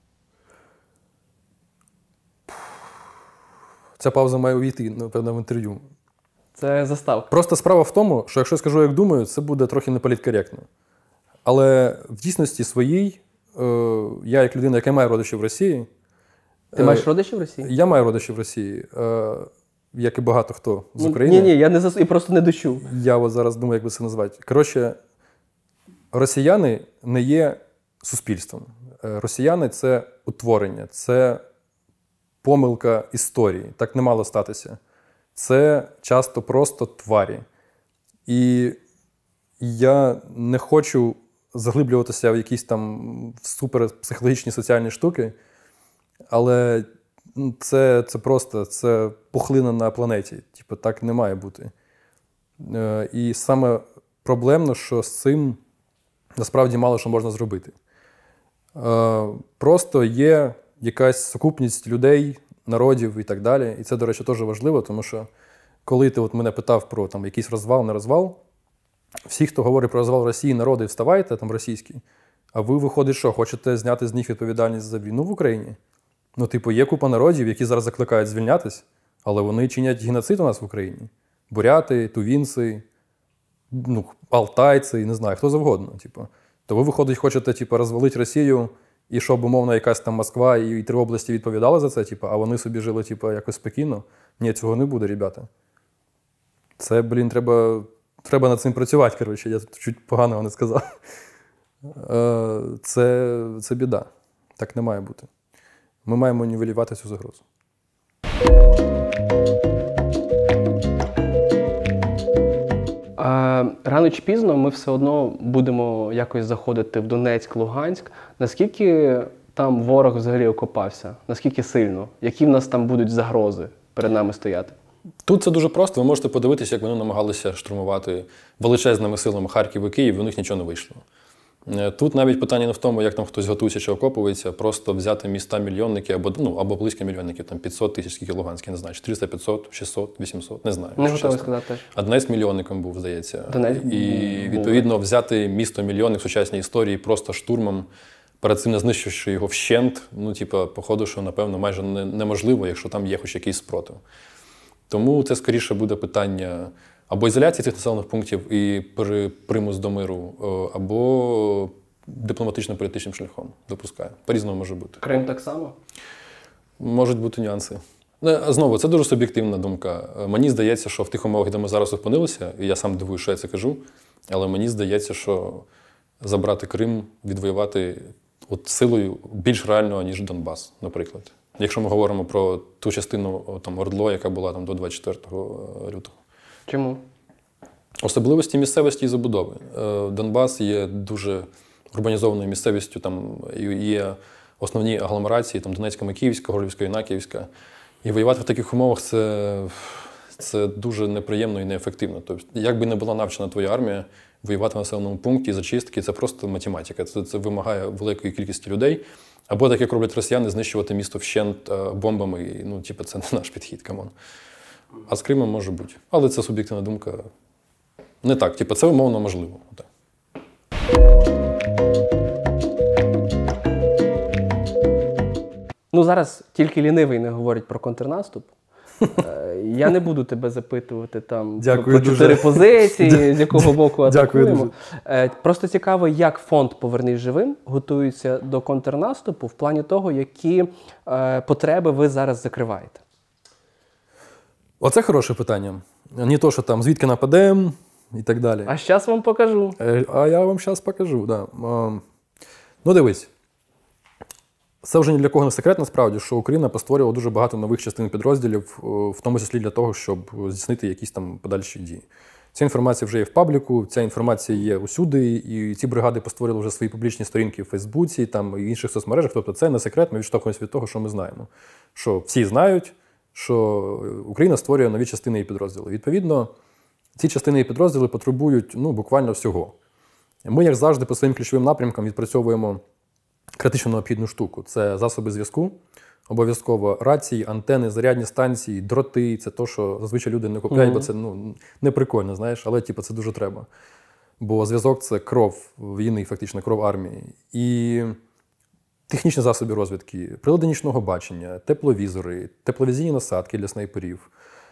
Ця пауза має увійти, напевно, в інтерв'ю. Це заставка. Просто справа в тому, що якщо я скажу, як думаю, це буде трохи неполіткоректно. Але в дійсності своїй, е, я як людина, яка має родичів в Росії... Ти е, маєш родичів в Росії? Я маю родичів в Росії, е, як і багато хто з України. Ні-ні, я не зас... і просто не дочув. Я от зараз думаю, як би це назвати. Коротше, росіяни не є суспільством. Е, росіяни – це утворення, це помилка історії. Так не мало статися. Це часто просто тварі. І я не хочу заглиблюватися в якісь там суперпсихологічні соціальні штуки, але це, це просто це пухлина на планеті. Типу, так не має бути. Е, і саме проблемно, що з цим насправді мало що можна зробити. Е, просто є якась сукупність людей, народів і так далі. І це, до речі, теж важливо, тому що коли ти от мене питав про там, якийсь розвал, не розвал, всі, хто говорить про розвал Росії, народи, вставайте, там російські, а ви, виходить, що, хочете зняти з них відповідальність за війну в Україні? Ну, типу, є купа народів, які зараз закликають звільнятись, але вони чинять геноцид у нас в Україні. Буряти, тувінці, ну, алтайці, не знаю, хто завгодно. Типу. То ви, виходить, хочете типу, розвалити Росію, і щоб, умовно, якась там Москва і, і три області відповідали за це, типу, а вони собі жили типу, якось спокійно? Ні, цього не буде, ребята. Це, блін, треба, треба над цим працювати, коротше, я чуть поганого не сказав. Це, це біда. Так не має бути. Ми маємо нівелювати цю загрозу. А, рано чи пізно ми все одно будемо якось заходити в Донецьк, Луганськ. Наскільки там ворог взагалі окопався? Наскільки сильно? Які в нас там будуть загрози перед нами стояти? Тут це дуже просто. Ви можете подивитися, як вони намагалися штурмувати величезними силами Харків і Київ, і у них нічого не вийшло. Тут навіть питання не в тому, як там хтось готується чи окопується, просто взяти міста-мільйонники або, ну, або близько мільйонників, там п'ятсот тисяч, скільки Луганський, не знаю, чотириста, п'ятсот, шістсот, вісімсот, не знаю. Не готовий сказати теж. А Донець мільйонником був, здається. Донець і, відповідно, взяти місто-мільйонник в сучасній історії просто штурмом, перед цим не знищивши його вщент, ну, типу, походу, що, напевно, майже не, неможливо, якщо там є хоч якийсь спротив. Тому це, скоріше, буде питання або ізоляції цих населених пунктів і примус до миру, або дипломатично-політичним шляхом, допускаю. По-різному може бути. Крим так само? Можуть бути нюанси. Знову, це дуже суб'єктивна думка. Мені здається, що в тих умовах, де ми зараз опинилися, і я сам дивую, що я це кажу, але мені здається, що забрати Крим, відвоювати от силою більш реального, ніж Донбас, наприклад. Якщо ми говоримо про ту частину там, ОРДЛО, яка була там, до двадцять четвертого лютого. Чому? Особливості місцевості і забудови. Донбас є дуже урбанізованою місцевістю, там є основні агломерації, там Донецька, Микіївська, Горлівська, Інаківська. І воювати в таких умовах це, це дуже неприємно і неефективно. Тобто, як би не була навчена твоя армія, воювати в населеному пункті, зачистки – це просто математика. Це, це вимагає великої кількості людей. Або так, як роблять росіяни, знищувати місто вщент бомбами. І, ну, типу, це не наш підхід, камон. А з Кримом може бути. Але це суб'єктивна думка. Не так. Типу, це умовно можливо. Так. Ну, зараз тільки лінивий не говорить про контрнаступ. Е, Я не буду тебе запитувати там Дякую про чотири дуже. позиції, з якого боку Дякую атакуємо. дуже. Е, Просто цікаво, як фонд «Повернись живим» готується до контрнаступу в плані того, які е, потреби ви зараз закриваєте. Оце хороше питання. Не то, що там звідки нападемо і так далі. А зараз вам покажу. Е, А я вам зараз покажу. Да. Ем, Ну, дивись. Це вже ні для кого не секрет, насправді, що Україна постворювала дуже багато нових частин підрозділів, е, в тому числі для того, щоб здійснити якісь там подальші дії. Ця інформація вже є в пабліку, ця інформація є усюди, і ці бригади постворили вже свої публічні сторінки в Фейсбуці, там, і інших соцмережах. Тобто це не секрет, ми відштовхуємося від того, що ми знаємо. Що всі знають, що Україна створює нові частини і підрозділи. Відповідно, ці частини і підрозділи потребують ну, буквально всього. Ми, як завжди, по своїм ключовим напрямкам відпрацьовуємо критично необхідну штуку. Це засоби зв'язку, обов'язково рації, антени, зарядні станції, дроти. Це те, що зазвичай люди не купляють, mm-hmm. бо це ну, не прикольно, знаєш, але типу, це дуже треба. Бо зв'язок – це кров війни, фактично, кров армії. І технічні засоби розвідки, прилади нічного бачення, тепловізори, тепловізійні насадки для снайперів,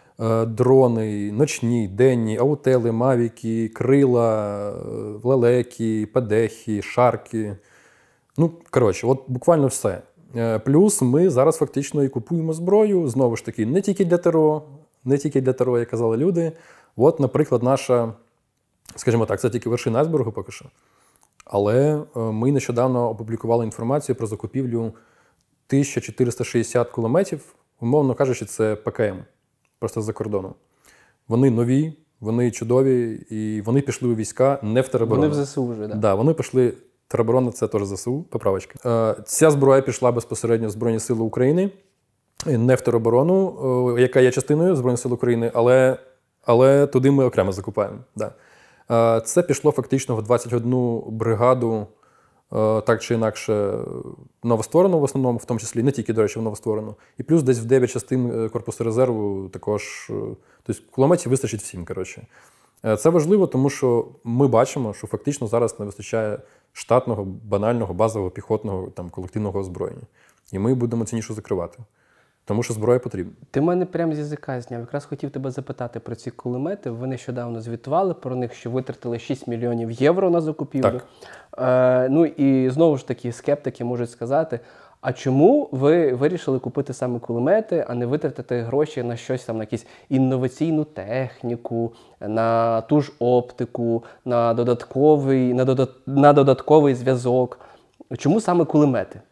дрони, ночні, денні, аутели, мавіки, крила, лелеки, педехи, шарки. Ну, коротше, от буквально все. Плюс ми зараз фактично і купуємо зброю, знову ж таки, не тільки для ТРО, не тільки для ТРО, як казали люди. От, наприклад, наша, скажімо так, це тільки вершина айсбергу поки що. Але ми нещодавно опублікували інформацію про закупівлю тисяча чотириста шістдесят кулеметів, умовно кажучи, це ПКМ, просто з-за кордону. Вони нові, вони чудові, і вони пішли у війська не в тероборону. Вони в ЗСУ вже, так? Да, вони пішли. Тероборона – це теж ЗСУ, поправочка. Ця зброя пішла безпосередньо в Збройні Сили України, не в тероборону, яка є частиною Збройних Сил України, але, але туди ми окремо закупаємо. Да. Це пішло фактично в двадцять одну бригаду, так чи інакше, новостворену в основному, в тому числі, не тільки, до речі, в новостворену. І плюс десь в дев'ять частин корпусу резерву також, тобто кулеметів вистачить всім, коротше. Це важливо, тому що ми бачимо, що фактично зараз не вистачає штатного, банального, базового, піхотного, там, колективного озброєння. І ми будемо ці нішу закривати. Тому що зброя потрібна. Ти мене прямо з язика зняв. Якраз хотів тебе запитати про ці кулемети. Ви нещодавно звітували про них, що витратили шість мільйонів євро на закупівлю. Так. Е, ну і знову ж таки скептики можуть сказати, а чому ви вирішили купити саме кулемети, а не витратити гроші на щось там, на якусь інноваційну техніку, на ту ж оптику, на додатковий, на додат, на додатковий зв'язок? Чому саме кулемети?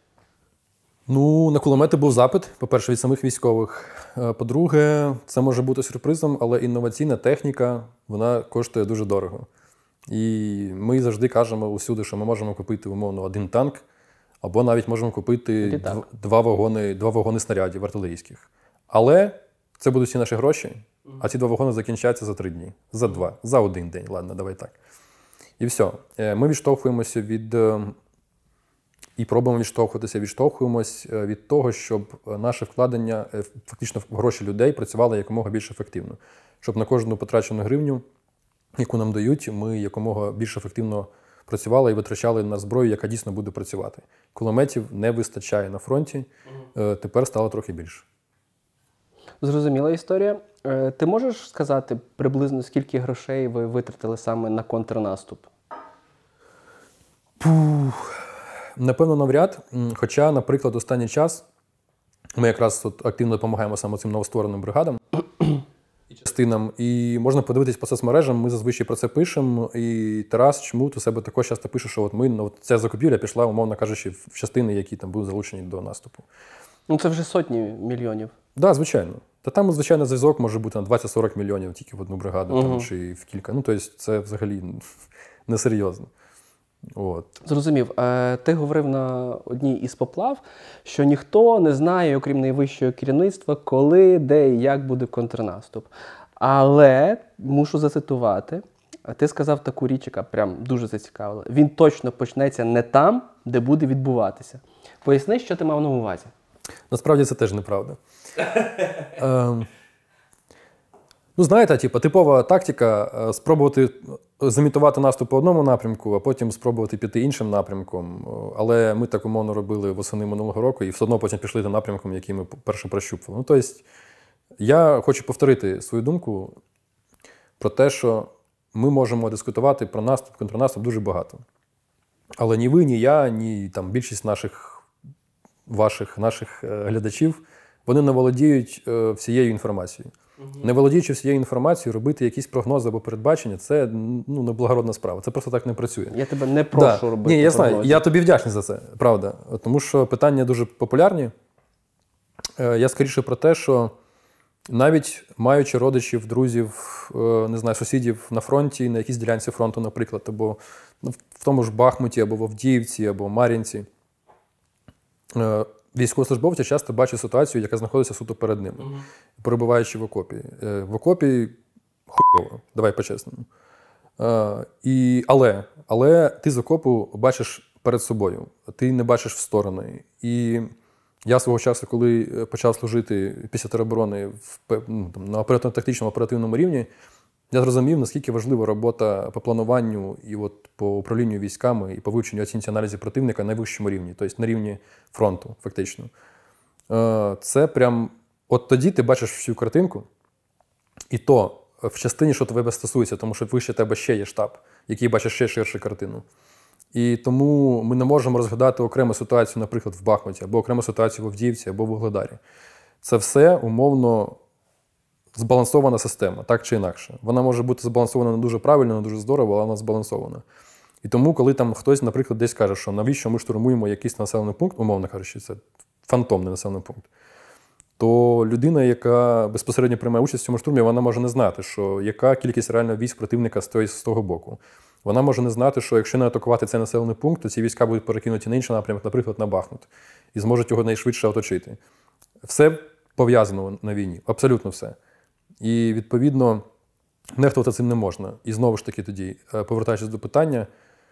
Ну, на кулемети був запит, по-перше, від самих військових. По-друге, це може бути сюрпризом, але інноваційна техніка, вона коштує дуже дорого. І ми завжди кажемо усюди, що ми можемо купити, умовно, один танк, або навіть можемо купити дв- два вагони, два вагони снарядів артилерійських. Але це будуть всі наші гроші, а ці два вагони закінчаться за три дні, за два, за один день, ладно, давай так. І все. Ми відштовхуємося від... І пробуємо відштовхуватися, відштовхуємось від того, щоб наше вкладення, фактично в гроші людей, працювало якомога більш ефективно. Щоб на кожну потрачену гривню, яку нам дають, ми якомога більш ефективно працювали і витрачали на зброю, яка дійсно буде працювати. Кулеметів не вистачає на фронті, угу. Тепер стало трохи більше. Зрозуміла історія. Ти можеш сказати приблизно, скільки грошей ви витратили саме на контрнаступ? Пух... Напевно, навряд. Хоча, наприклад, останній час ми якраз от активно допомагаємо саме цим новоствореним бригадам і частинам. І можна подивитись по соцмережам, ми зазвичай про це пишемо. І Тарас Чмут у себе також часто пише, що от ми, ну, от ця закупівля пішла, умовно кажучи, в частини, які там будуть залучені до наступу. Ну це вже сотні мільйонів. Так, да, звичайно. Та там, звичайно, зв'язок може бути на двадцять-сорок мільйонів тільки в одну бригаду, угу. там, чи в кілька. Ну, тобто це взагалі несерйозно. От. Зрозумів. Ти говорив на одній із поплав, що ніхто не знає, окрім найвищого керівництва, коли, де і як буде контрнаступ. Але, мушу зацитувати, ти сказав таку річ, яка прям дуже зацікавила. Він точно почнеться не там, де буде відбуватися. Поясни, що ти мав на увазі. Насправді це теж неправда. ем, Ну, знаєте, типу, типова тактика – спробувати зімітувати наступ по одному напрямку, а потім спробувати піти іншим напрямком. Але ми так умовно робили восени минулого року і все одно потім пішли тим напрямком, який ми перше прощупували. Ну, тобто, я хочу повторити свою думку про те, що ми можемо дискутувати про наступ, контрнаступ дуже багато. Але ні ви, ні я, ні там, більшість наших, ваших, наших глядачів, вони не володіють всією інформацією. Угу. Не володіючи всією інформацією, робити якісь прогнози або передбачення – це ну, неблагородна справа. Це просто так не працює. Я тебе не прошу да. робити Ні, я прогнози. знаю. Я тобі вдячний за це, правда. Тому що питання дуже популярні. Я скоріше про те, що навіть маючи родичів, друзів, не знаю, сусідів на фронті, на якійсь ділянці фронту, наприклад, або в тому ж Бахмуті, або в Авдіївці, або Мар'їнці, військовослужбовці часто бачать ситуацію, яка знаходиться суто перед ними, угу. перебуваючи в окопі. В окопі хуйово, давай по-чесному. І, але, але ти з окопу бачиш перед собою, ти не бачиш в сторони. І я свого часу, коли почав служити після тероборони в, ну, там, на оперативно-тактичному оперативному рівні, я зрозумів, наскільки важлива робота по плануванню і от по управлінню військами і по вивченню оцінці аналізі противника на найвищому рівні, тобто на рівні фронту, фактично. Це прям, от тоді ти бачиш всю картинку, і то в частині, що тебе стосується, тому що вище тебе ще є штаб, який бачить ще ширшу картину. І тому ми не можемо розглядати окрему ситуацію, наприклад, в Бахмуті, або окрему ситуацію в Авдіївці, або в Вугледарі. Це все умовно збалансована система, так чи інакше. Вона може бути збалансована не дуже правильно, не дуже здорово, але вона збалансована. І тому, коли там хтось, наприклад, десь каже, що навіщо ми штурмуємо якийсь населений пункт, умовно кажучи, це фантомний населений пункт, то людина, яка безпосередньо приймає участь в цьому штурмі, вона може не знати, що яка кількість реально військ противника стоїть з того боку. Вона може не знати, що якщо не атакувати цей населений пункт, то ці війська будуть перекинуті на інший напрямок, наприклад, на Бахмут, і зможуть його найшвидше оточити. Все пов'язано на війні, абсолютно все. І, відповідно, нехтувати цим не можна. І знову ж таки тоді, повертаючись до питання,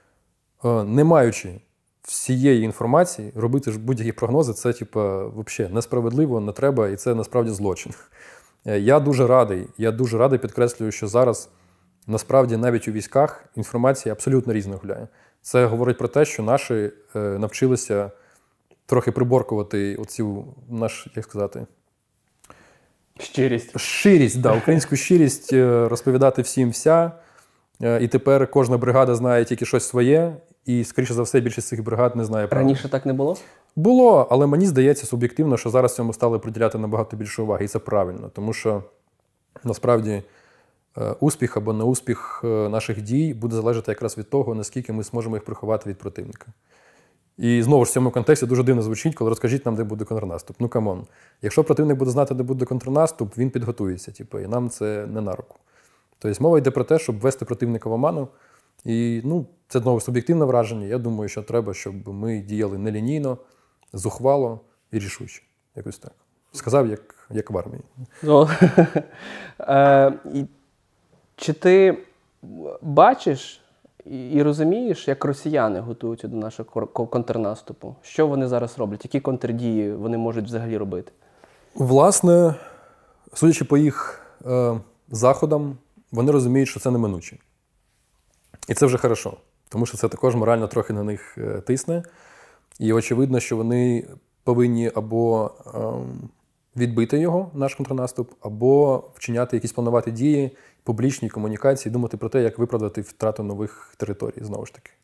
не маючи всієї інформації, робити ж будь-які прогнози, це, типу, взагалі несправедливо, не треба, і це насправді злочин. Я дуже радий, я дуже радий, підкреслюю, що зараз насправді навіть у військах інформація абсолютно різна гуляє. Це говорить про те, що наші навчилися трохи приборкувати оцю наш, як сказати, щирість. Щирість, да, українську щирість розповідати всім вся. І тепер кожна бригада знає тільки щось своє, і, скоріше за все, більшість цих бригад не знає правди. Раніше так не було? Було, але мені здається суб'єктивно, що зараз цьому стали приділяти набагато більше уваги. І це правильно, тому що, насправді, успіх або неуспіх наших дій буде залежати якраз від того, наскільки ми зможемо їх приховати від противника. І знову ж в цьому контексті дуже дивно звучить, коли розкажіть нам, де буде контрнаступ. Ну, камон. Якщо противник буде знати, де буде контрнаступ, він підготується, типу, і нам це не на руку. Тобто мова йде про те, щоб ввести противника в оману. І, ну, це, знову, суб'єктивне враження. Я думаю, що треба, щоб ми діяли нелінійно, зухвало і рішуче. Якось так. Сказав, як, як в армії. Ну, е, чи ти бачиш і розумієш, як росіяни готуються до нашого контрнаступу? Що вони зараз роблять? Які контрдії вони можуть взагалі робити? Власне, судячи по їх е, заходам, вони розуміють, що це неминуче. І це вже хорошо, тому що це також морально трохи на них е, тисне. І очевидно, що вони повинні або е, відбити його, наш контрнаступ, або вчиняти якісь планувати дії, публічні комунікації, думати про те, як виправдати втрату нових територій, знову ж таки.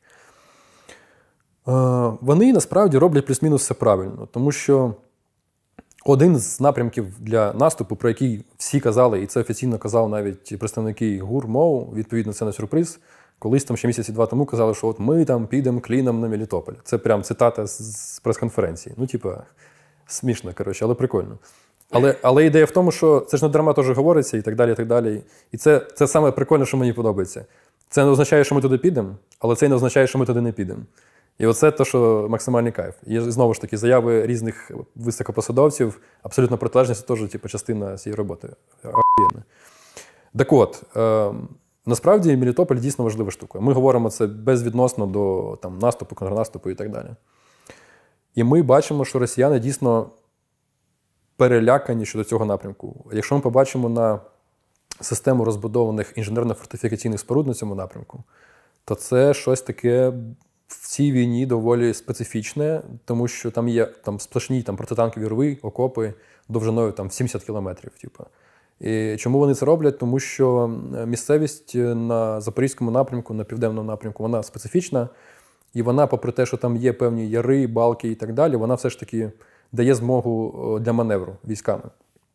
Е, вони, насправді, роблять плюс-мінус все правильно, тому що один з напрямків для наступу, про який всі казали, і це офіційно казав навіть представники ГУР, МОУ, відповідно, це не сюрприз, колись там ще місяці два тому казали, що от ми там підемо кліном на Мелітополь. Це прям цитата з прес-конференції. Ну, типа, смішно, коротше, але прикольно. Але, але ідея в тому, що це ж не дарма теж говориться і так далі, і так далі. І це, це саме прикольне, що мені подобається. Це не означає, що ми туди підемо, але це не означає, що ми туди не підемо. І оце те, що максимальний кайф. І знову ж таки, заяви різних високопосадовців, абсолютно протилежні, це теж типу, частина цієї роботи. Охуєнно. Так от, е, насправді Мелітополь дійсно важлива штука. Ми говоримо це безвідносно до там, наступу, контрнаступу і так далі. І ми бачимо, що росіяни дійсно перелякані щодо цього напрямку. Якщо ми побачимо на систему розбудованих інженерно-фортифікаційних споруд на цьому напрямку, то це щось таке в цій війні доволі специфічне, тому що там є там, сплошні там, протитанкові рви, окопи довжиною там, сімдесят кілометрів. Типу. І чому вони це роблять? Тому що місцевість на Запорізькому напрямку, на південному напрямку, вона специфічна, і вона, попри те, що там є певні яри, балки і так далі, вона все ж таки дає змогу для маневру військами.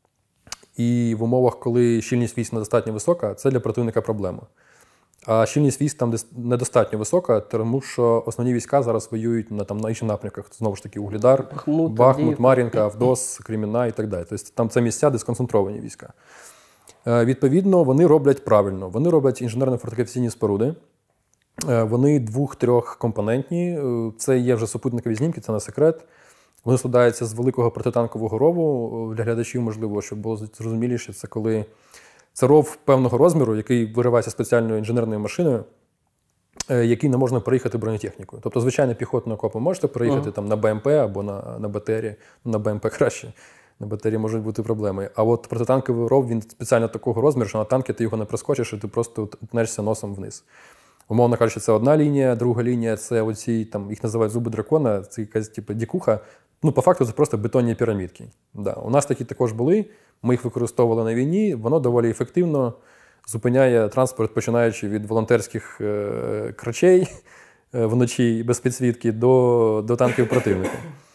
І в умовах, коли щільність військ недостатньо висока, це для противника проблема. А щільність військ там недостатньо висока, тому що основні війська зараз воюють на, там, на інших напрямках. Знову ж таки, Угледар, Бахмут, Бахмут, Мар'їнка, Авдос, Кремінна і так далі. Тобто там це місця, де сконцентровані війська. Е, відповідно, вони роблять правильно. Вони роблять інженерно-фортифікаційні споруди. Е, вони двох-трьохкомпонентні. Е, це є вже супутникові знімки, це не секрет. Вони складаються з великого протитанкового рову. Для глядачів, можливо, щоб було зрозуміліше, це коли це ров певного розміру, який виривається спеціальною інженерною машиною, який не можна переїхати бронетехнікою. Тобто, звичайно, піхотну окопу можете переїхати uh-huh. там, на БМП або на, на БТРі. На БМП краще, на БТРі можуть бути проблеми. А от протитанковий ров, він спеціально такого розміру, що на танки ти його не проскочиш, і ти просто тнешся носом вниз. Умовно кажучи, це одна лінія, друга лінія – це оці, там, їх називають зуби дракона, це якась типу дікуха. Ну, по факту, це просто бетонні пірамідки. Да. У нас такі також були, ми їх використовували на війні, воно доволі ефективно зупиняє транспорт, починаючи від волонтерських е- крачей е- вночі без підсвітки до, до танків противника.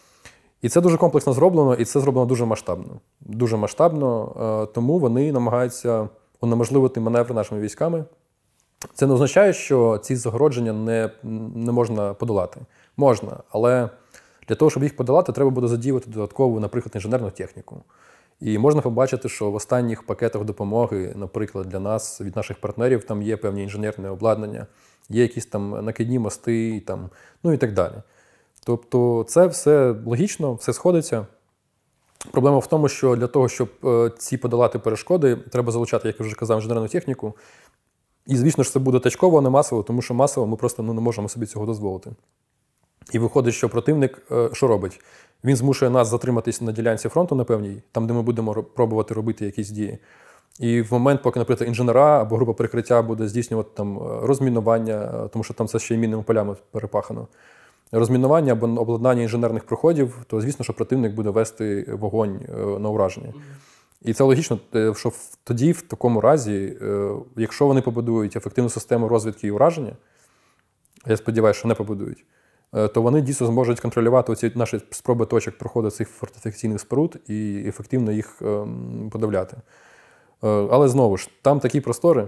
І це дуже комплексно зроблено, і це зроблено дуже масштабно. Дуже масштабно, е- тому вони намагаються унеможливити маневри нашими військами. Це не означає, що ці загородження не, не можна подолати. Можна, але для того, щоб їх подолати, треба буде задіювати додаткову, наприклад, інженерну техніку. І можна побачити, що в останніх пакетах допомоги, наприклад, для нас, від наших партнерів, там є певні інженерне обладнання, є якісь там накидні мости, там, ну і так далі. Тобто це все логічно, все сходиться. Проблема в тому, що для того, щоб ці подолати перешкоди, треба залучати, як я вже казав, інженерну техніку. І, звісно ж, це буде точково, а не масово, тому що масово ми просто ну, не можемо собі цього дозволити. І виходить, що противник що робить? Він змушує нас затриматися на ділянці фронту на певній, там, де ми будемо пробувати робити якісь дії. І в момент, поки, наприклад, інженера або група прикриття буде здійснювати там розмінування, тому що там це ще й мінними полями перепахано, розмінування або обладнання інженерних проходів, то, звісно, що противник буде вести вогонь на ураження. І це логічно, що тоді, в такому разі, якщо вони побудують ефективну систему розвідки і ураження, я сподіваюся, що не побудують, то вони дійсно зможуть контролювати оці наші спроби точок проходу цих фортифікаційних споруд і ефективно їх подавляти. Але знову ж, там такі простори,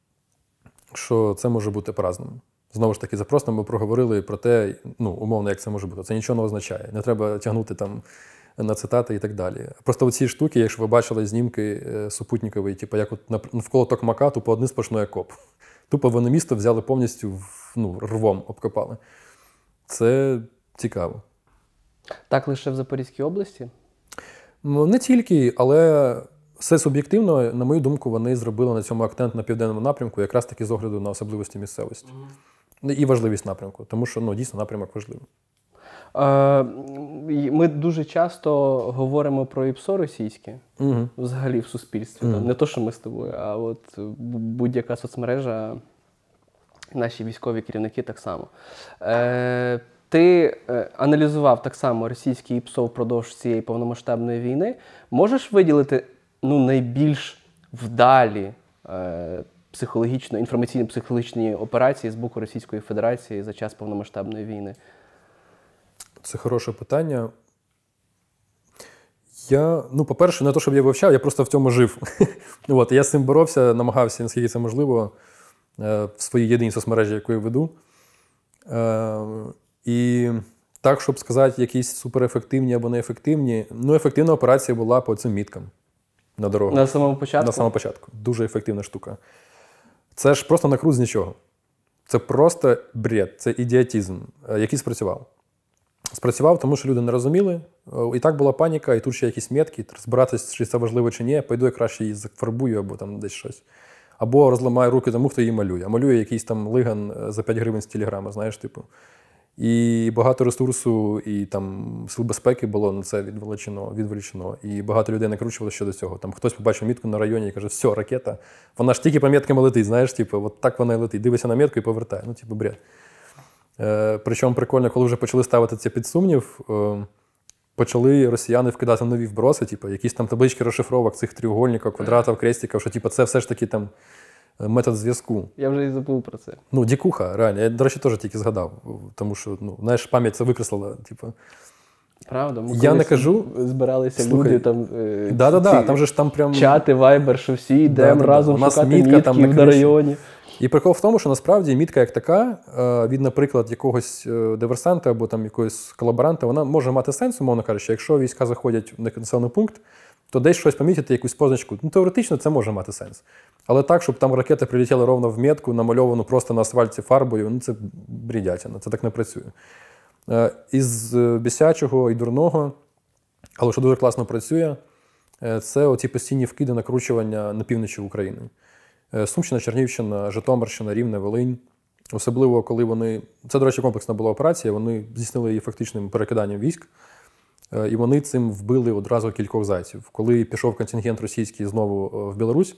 що це може бути по-разному. Знову ж таки, за просто ми проговорили про те, ну, умовно, як це може бути. Це нічого не означає. Не треба тягнути там на цитати і так далі. Просто оці штуки, якщо ви бачили знімки супутникові, типу, як от навколо Токмака, тупо один сплошний окоп. Тупо вони місто взяли повністю, ну, рвом обкопали. Це цікаво. Так лише в Запорізькій області? Ну, не тільки, але все суб'єктивно, на мою думку, вони зробили на цьому акцент на південному напрямку, якраз таки з огляду на особливості місцевості. Mm-hmm. І важливість напрямку, тому що, ну, дійсно, напрямок важливий. Ми дуже часто говоримо про ІПСО російське, угу. взагалі в суспільстві. Угу. Не то, що ми з тобою, а от будь-яка соцмережа, наші військові керівники так само. Е, ти аналізував так само російське ІПСО впродовж цієї повномасштабної війни. Можеш виділити ну, найбільш вдалі е, психологічно, інформаційно-психологічні операції з боку Російської Федерації за час повномасштабної війни? Це хороше питання. Я, ну, по-перше, не те, щоб я вивчав, я просто в цьому жив. От, я з цим боровся, намагався, наскільки це можливо, в своїй єдиній соцмережі, яку я веду. І так, щоб сказати, якісь суперефективні або неефективні, ну, ефективна операція була по цим міткам на дорогах. На самому початку? На самому початку. Дуже ефективна штука. Це ж просто накрут з нічого. Це просто бред, це ідіотизм, який спрацював. Спрацював, тому що люди не розуміли. І так була паніка, і тут ще якісь метки, розбиратися, чи це важливо чи ні, пойду я краще її зафарбую або там десь щось. Або розламаю руки тому, хто її малює. А малює якийсь там лиган за п'ять гривень з телеграми, знаєш, типу. І багато ресурсу, і там сил безпеки було на це відволічено, відволічено. І багато людей накручували щодо цього. Там хтось побачив мітку на районі і каже, все, ракета, вона ж тільки по меткам летить, знаєш, типу, от так вона і летить. Дивися на метку і повертає. Ну, типу, бред. Е, причому прикольно, коли вже почали ставити це під сумнів, е, почали росіяни вкидати нові вброси, типу, якісь там таблички розшифровок цих тріугольників, квадратів, крестиків, що типу, це все ж таки там метод зв'язку. Я вже і забув про це. Ну, дікуха, реально. Я, до речі, теж тільки згадав. Тому що, ну, знаєш, пам'ять це викреслила. Типу. Правда? Ми я не кажу. Збиралися Слухай, люди там. Е, да-да-да, там же ж там прям. Чати, вайбер, що всі йдемо да, разом у нас шукати мітка, мітків там на на районі. І прикол в тому, що насправді мітка як така, від, наприклад, якогось диверсанта або там якогось колаборанта, вона може мати сенс, умовно кажучи, якщо війська заходять в населений пункт, то десь щось помітити, якусь позначку. Ну, теоретично це може мати сенс. Але так, щоб там ракета прилетіла ровно в метку, намальовану просто на асфальті фарбою, ну це брідятина, це так не працює. Із бісячого і дурного, але що дуже класно працює, це оці постійні вкиди накручування на півночі України. Сумщина, Чернігівщина, Житомирщина, Рівне, Волинь. Особливо, коли вони... Це, до речі, комплексна була операція, вони здійснили її фактичним перекиданням військ. І вони цим вбили одразу кількох зайців. Коли пішов контингент російський знову в Білорусь,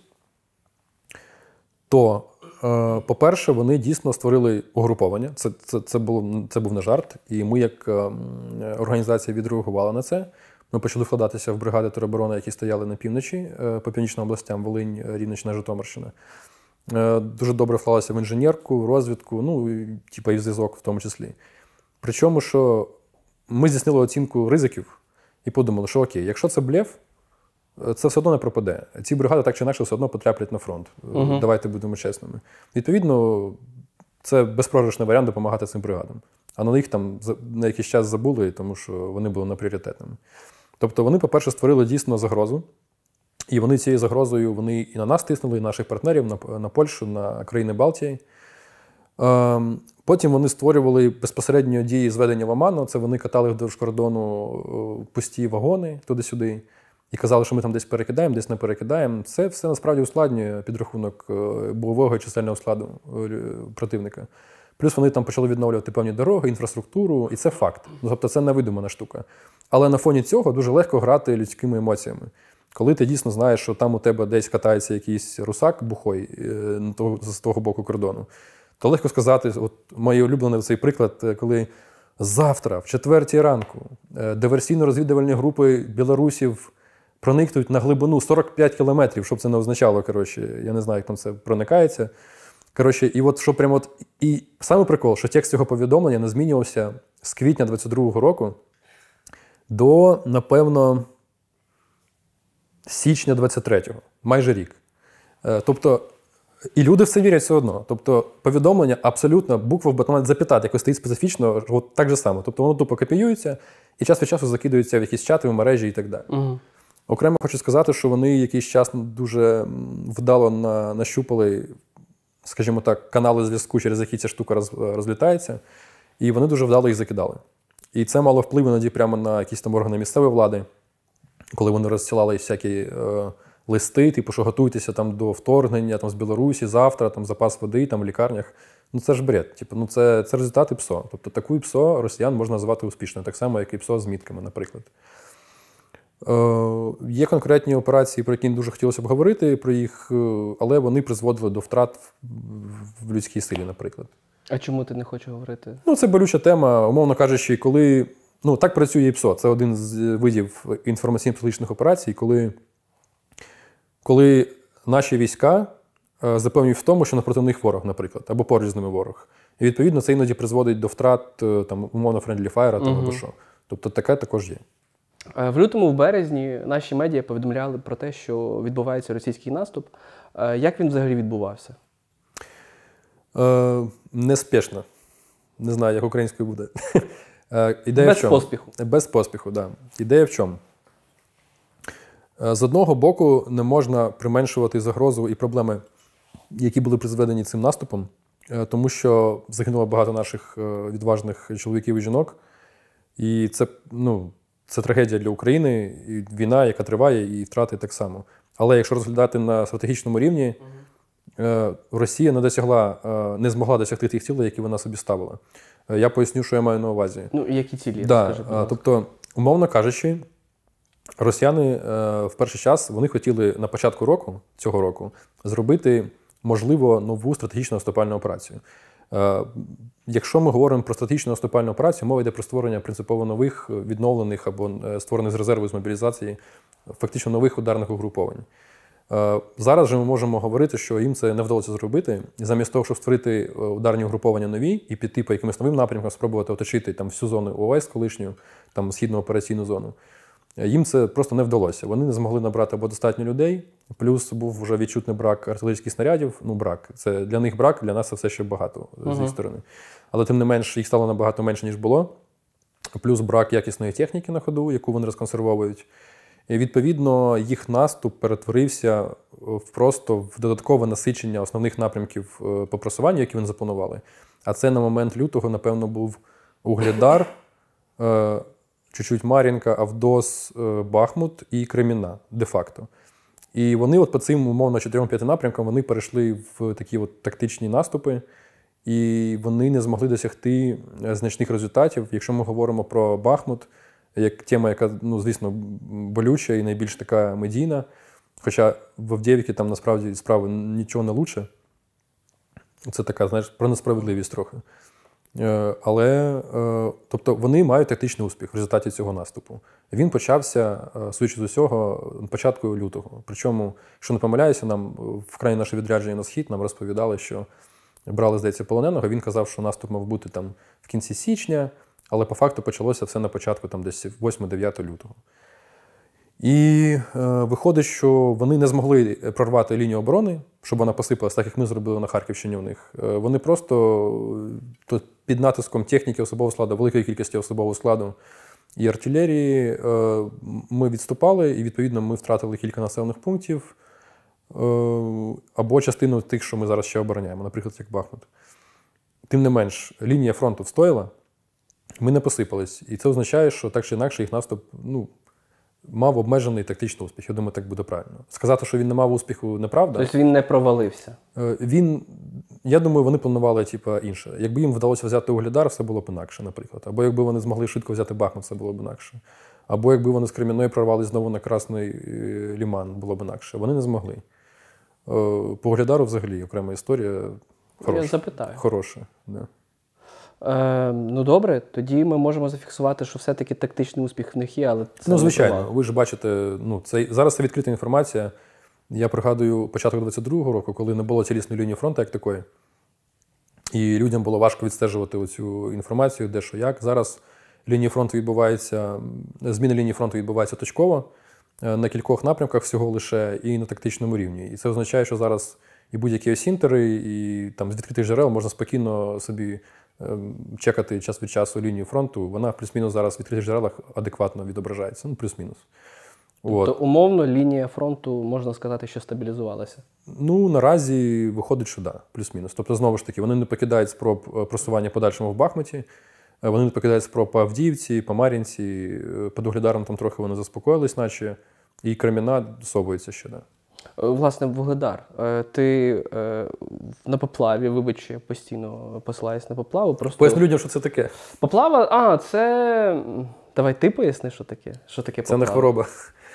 то, по-перше, вони дійсно створили угруповання. Це, це, це, було, це був не жарт. І ми, як організація, відреагували на це. Ми почали вкладатися в бригади тероборони, які стояли на півночі, по північним областям, Волинь, Рівненщина, Житомирщина. Дуже добре вклалися в інженерку, в розвідку, ну, і, типу, і в зв'язок в тому числі. Причому, що ми здійснили оцінку ризиків і подумали, що окей, якщо це блеф, це все одно не пропаде. Ці бригади так чи інакше все одно потраплять на фронт. Uh-huh. Давайте будемо чесними. Відповідно, це безпрограшний варіант допомагати цим бригадам. А на них там на якийсь час забули, тому що вони були непріоритетними. Тобто вони, по-перше, створили дійсно загрозу. І вони цією загрозою вони і на нас тиснули, і наших партнерів, на, на Польщу, на країни Балтії. Ем, потім вони створювали безпосередньо дії зведення в Оману. Це вони катали вдовж кордону пусті вагони туди-сюди. І казали, що ми там десь перекидаємо, десь не перекидаємо. Це все насправді ускладнює підрахунок бойового і чисельного складу противника. Плюс вони там почали відновлювати певні дороги, інфраструктуру, і це факт. Тобто це невидимана штука. Але на фоні цього дуже легко грати людськими емоціями. Коли ти дійсно знаєш, що там у тебе десь катається якийсь русак бухой з того боку кордону, то легко сказати, от мій улюблений цей приклад, коли завтра, в четвертій ранку, диверсійно-розвідувальні групи білорусів проникнуть на глибину сорок п'ять кілометрів, щоб це не означало, коротше, я не знаю, як там це проникається. Коротше, і от що прямо от, і саме прикол, що текст цього повідомлення не змінювався з квітня двадцять другого року до, напевно, січня двадцять третього, майже рік. Тобто, і люди в це вірять все одно. Тобто, повідомлення абсолютно, буква в бетон запитати, якось стоїть специфічно, от так же само. Тобто, воно тупо копіюється і час від часу закидується в якісь чати, в мережі і так далі. Угу. Окремо хочу сказати, що вони якийсь час дуже вдало на, нащупали, скажімо так, канали зв'язку, через які ця штука роз, розлітається, і вони дуже вдало їх закидали. І це мало вплив іноді прямо на якісь там органи місцевої влади, коли вони розсилали всякі е, листи, типу, що готуйтеся там до вторгнення там, з Білорусі, завтра, там запас води там, в лікарнях. Ну це ж бред. Типу, ну, це, це результати ПСО. Тобто таку ПСО росіян можна назвати успішною, так само, як і ПСО з мітками, наприклад. Е, є конкретні операції, про які не дуже хотілося б говорити, про їх, але вони призводили до втрат в людській силі, наприклад. А чому ти не хочеш говорити? Ну, це болюча тема, умовно кажучи, коли... Ну, так працює і ПСО. Це один з видів інформаційно-психологічних операцій, коли, коли наші війська е, запевнюють в тому, що напроти них ворог, наприклад, або поруч з ними ворог. І, відповідно, це іноді призводить до втрат, там, умовно, friendly fire, там, угу. або що. Тобто таке також є. В лютому, в березні наші медіа повідомляли про те, що відбувається російський наступ. Як він взагалі відбувався? Е, неспішно. Не знаю, як українською буде. Ідея Без в чому? поспіху. Без поспіху, так. Да. Ідея в чому? З одного боку, не можна применшувати загрозу і проблеми, які були призведені цим наступом, тому що загинуло багато наших відважних чоловіків і жінок. І це, ну, це трагедія для України, і війна, яка триває, і втрати так само. Але якщо розглядати на стратегічному рівні, Росія не досягла, не змогла досягти тих цілей, які вона собі ставила. Я поясню, що я маю на увазі. Ну, які цілі? Да, Розкажи, будь ласка. тобто, умовно кажучи, росіяни в перший час вони хотіли на початку року, цього року, зробити, можливо, нову стратегічну наступальну операцію. Якщо ми говоримо про стратегічну наступальну операцію, мова йде про створення принципово нових, відновлених або створених з резерву з мобілізації, фактично нових ударних угруповань. Зараз же ми можемо говорити, що їм це не вдалося зробити. І замість того, щоб створити ударні угруповання нові і піти по якимось новим напрямкам, спробувати оточити там всю зону ООС колишню, там східну операційну зону, їм це просто не вдалося. Вони не змогли набрати або достатньо людей, плюс був вже відчутний брак артилерійських снарядів. Ну, брак. Це для них брак, для нас це все ще багато з їх Угу. сторони. Але тим не менш, їх стало набагато менше, ніж було. Плюс брак якісної техніки на ходу, яку вони розконсервовують. І, відповідно, їх наступ перетворився в просто в додаткове насичення основних напрямків по просуванню, які вони запланували. А це на момент лютого, напевно, був Угледар, чуть-чуть Мар'їнка, Авдос, Бахмут і Креміна, де-факто. І вони от по цим, умовно, чотирьом-п'яти напрямкам вони перейшли в такі от тактичні наступи, і вони не змогли досягти значних результатів. Якщо ми говоримо про Бахмут, як тема, яка, ну, звісно, болюча і найбільш така медійна, хоча в Авдіївці там насправді справи нічого не лучше. Це така, знаєш, про несправедливість трохи. Але, тобто, вони мають тактичний успіх в результаті цього наступу. Він почався, судячи з усього, на початку лютого. Причому, якщо не помиляюся, нам в крайні наше відрядження на схід нам розповідали, що брали, здається, полоненого. Він казав, що наступ мав бути там в кінці січня, але по факту почалося все на початку там десь восьмого-дев'ятого лютого. І е, виходить, що вони не змогли прорвати лінію оборони, щоб вона посипалась, так як ми зробили на Харківщині у них. Е, вони просто то під натиском техніки особового складу, великої кількості особового складу і артилерії е, ми відступали, і, відповідно, ми втратили кілька населених пунктів е, або частину тих, що ми зараз ще обороняємо, наприклад, як Бахмут. Тим не менш, лінія фронту встояла, ми не посипались. І це означає, що так чи інакше їх наступ, ну, мав обмежений тактичний успіх. Я думаю, так буде правильно. Сказати, що він не мав успіху, неправда. Тобто він не провалився? Він, я думаю, вони планували типу, інше. Якби їм вдалося взяти Угледар, все було б інакше, наприклад. Або якби вони змогли швидко взяти Бахмут, це було б інакше. Або якби вони з Кремінної прорвали знову на Красний Ліман, було б інакше. Вони не змогли. По Угледару взагалі окрема історія. Хороша. Я запитаю. Хороша, да. Е, ну добре, тоді ми можемо зафіксувати, що все-таки тактичний успіх в них є, але це Ну, звичайно, не провал. ви ж бачите, ну, це, зараз це відкрита інформація. Я пригадую початок двадцять другого року, коли не було цілісної лінії фронту як такої. І людям було важко відстежувати оцю інформацію, де що як. Зараз лінії фронту відбувається, зміни лінії фронту відбуваються точково, на кількох напрямках всього лише і на тактичному рівні. І це означає, що зараз і будь-які осінтери, і там з відкритих джерел можна спокійно собі чекати час від часу лінію фронту, вона плюс-мінус зараз в відкритих джерелах адекватно відображається. Ну, плюс-мінус. Тобто, умовно, лінія фронту, можна сказати, що стабілізувалася? Ну, наразі виходить, що да, плюс-мінус. Тобто, знову ж таки, вони не покидають спроб просування подальшому в Бахмуті, вони не покидають спроб по Авдіївці, по Мар'їнці, під Угледаром там трохи вони заспокоїлись, наче, і Креміна совується ще, да. Власне, Вугледар. Ти е, на поплаві, вибач, я постійно посилаюсь на поплаву. Просто... Поясню людям, що це таке. Поплава, а, це... Давай ти поясни, що таке, що таке поплава. Це не хвороба.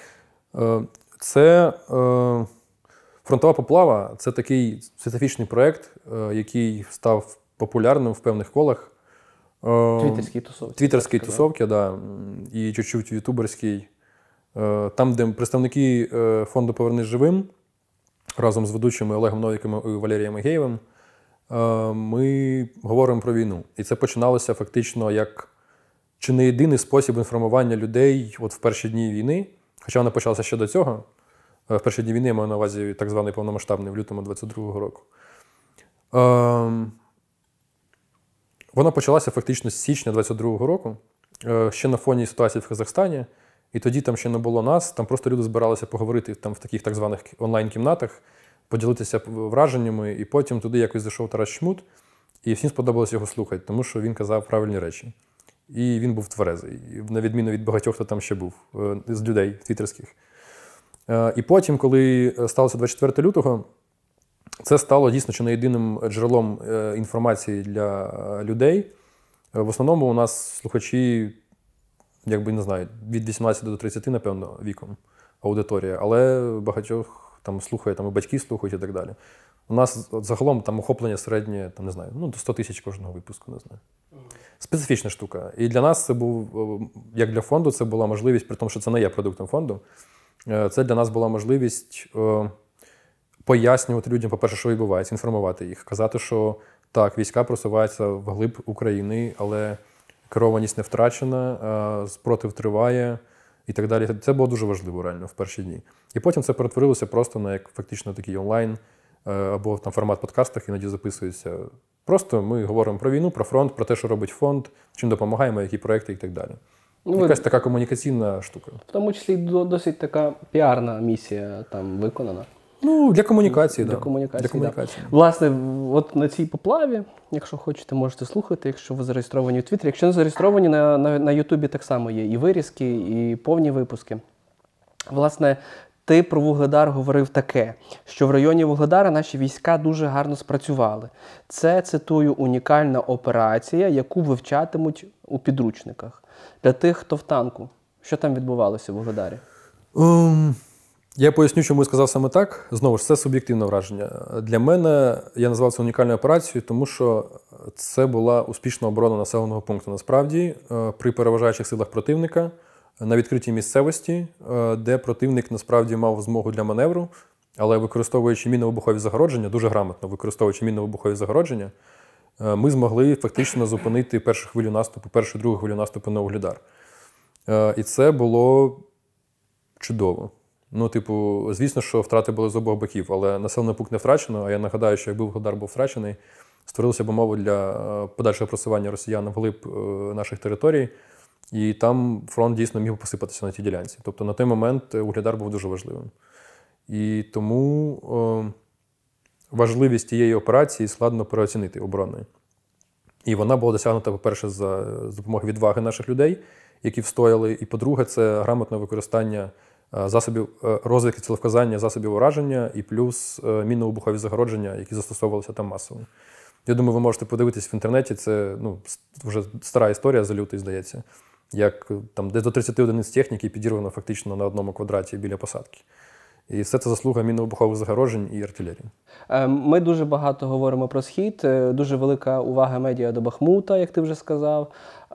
Це е, фронтова поплава – це такий специфічний проєкт, е, який став популярним в певних колах. Е, Твіттерські тусовки. Твіттерські тусовки, да, і чуть-чуть ютуберський. Там, де представники фонду «Повернись живим» разом з ведучими Олегом Новіком і Валерієм Ігеєвим ми говоримо про війну. І це починалося фактично як чи не єдиний спосіб інформування людей от в перші дні війни, хоча вона почалася ще до цього. В перші дні війни я маю на увазі так званий повномасштабний в лютому двадцять другого року. Вона почалася фактично з січня двадцять другого року, ще на фоні ситуації в Казахстані. І тоді там ще не було нас, там просто люди збиралися поговорити там в таких так званих онлайн-кімнатах, поділитися враженнями, і потім туди якось зайшов Тарас Чмут, і всім сподобалось його слухати, тому що він казав правильні речі. І він був тверезий, на відміну від багатьох, хто там ще був, з людей твіттерських. І потім, коли сталося двадцять четвертого лютого, це стало дійсно чи не єдиним джерелом е, інформації для е, людей. В основному у нас слухачі, якби не знаю, від вісімнадцяти до тридцяти, напевно, віком аудиторія, але багатьох там слухає, там і батьки слухають і так далі. У нас от, загалом там охоплення середнє, там, не знаю, ну, до сто тисяч кожного випуску, не знаю. Специфічна штука. І для нас це був, як для фонду, це була можливість, при тому, що це не є продуктом фонду, це для нас була можливість е, пояснювати людям, по-перше, що відбувається, інформувати їх, казати, що так, війська просуваються вглиб України, але керованість не втрачена, спротив триває і так далі. Це було дуже важливо реально в перші дні. І потім це перетворилося просто на як фактично такий онлайн або там формат подкастах іноді записується. Просто ми говоримо про війну, про фронт, про те, що робить фонд, чим допомагаємо, які проекти і так далі. Ну, якась така комунікаційна штука. В тому числі досить така піарна місія там виконана. Ну, для комунікації, для да. комунікації, для комунікації. Да. Власне, от на цій поплаві, якщо хочете, можете слухати, якщо ви зареєстровані у Твіттері. Якщо не зареєстровані, на, на, на Ютубі так само є і вирізки, і повні випуски. Власне, ти про Вугледар говорив таке, що в районі Вугледара наші війська дуже гарно спрацювали. Це, цитую, унікальна операція, яку вивчатимуть у підручниках. Для тих, хто в танку. Що там відбувалося в Вугледарі? Um... Я поясню, чому я сказав саме так. Знову ж, це суб'єктивне враження. Для мене, я назвав це унікальною операцією, тому що це була успішна оборона населеного пункту. Насправді, при переважаючих силах противника, на відкритій місцевості, де противник насправді мав змогу для маневру, але використовуючи мінно-вибухові загородження, дуже грамотно використовуючи мінно-вибухові загородження, ми змогли фактично зупинити першу хвилю наступу, першу другу хвилю наступу на Вугледар. І це було чудово. Ну, типу, звісно, що втрати були з обох боків, але населений пункт не втрачено, а я нагадаю, що якби Вугледар був втрачений, створилися б умови для подальшого просування росіян вглиб наших територій, і там фронт дійсно міг посипатися на тій ділянці. Тобто на той момент Вугледар був дуже важливим. І тому о, важливість тієї операції складно переоцінити оборонної. І вона була досягнута, по-перше, за допомогою відваги наших людей, які встояли, і, по-друге, це грамотне використання засобів розвідки, цілевказання, засобів ураження і плюс мінно-вибухові загородження, які застосовувалися там масово. Я думаю, ви можете подивитись в інтернеті, це ну, вже стара історія за лютий, здається, як там десь до тридцяти одиниць техніки підірвано фактично на одному квадраті біля посадки. І все це заслуга мінно-вибухових загороджень і артилерії. Ми дуже багато говоримо про Схід, дуже велика увага медіа до Бахмута, як ти вже сказав.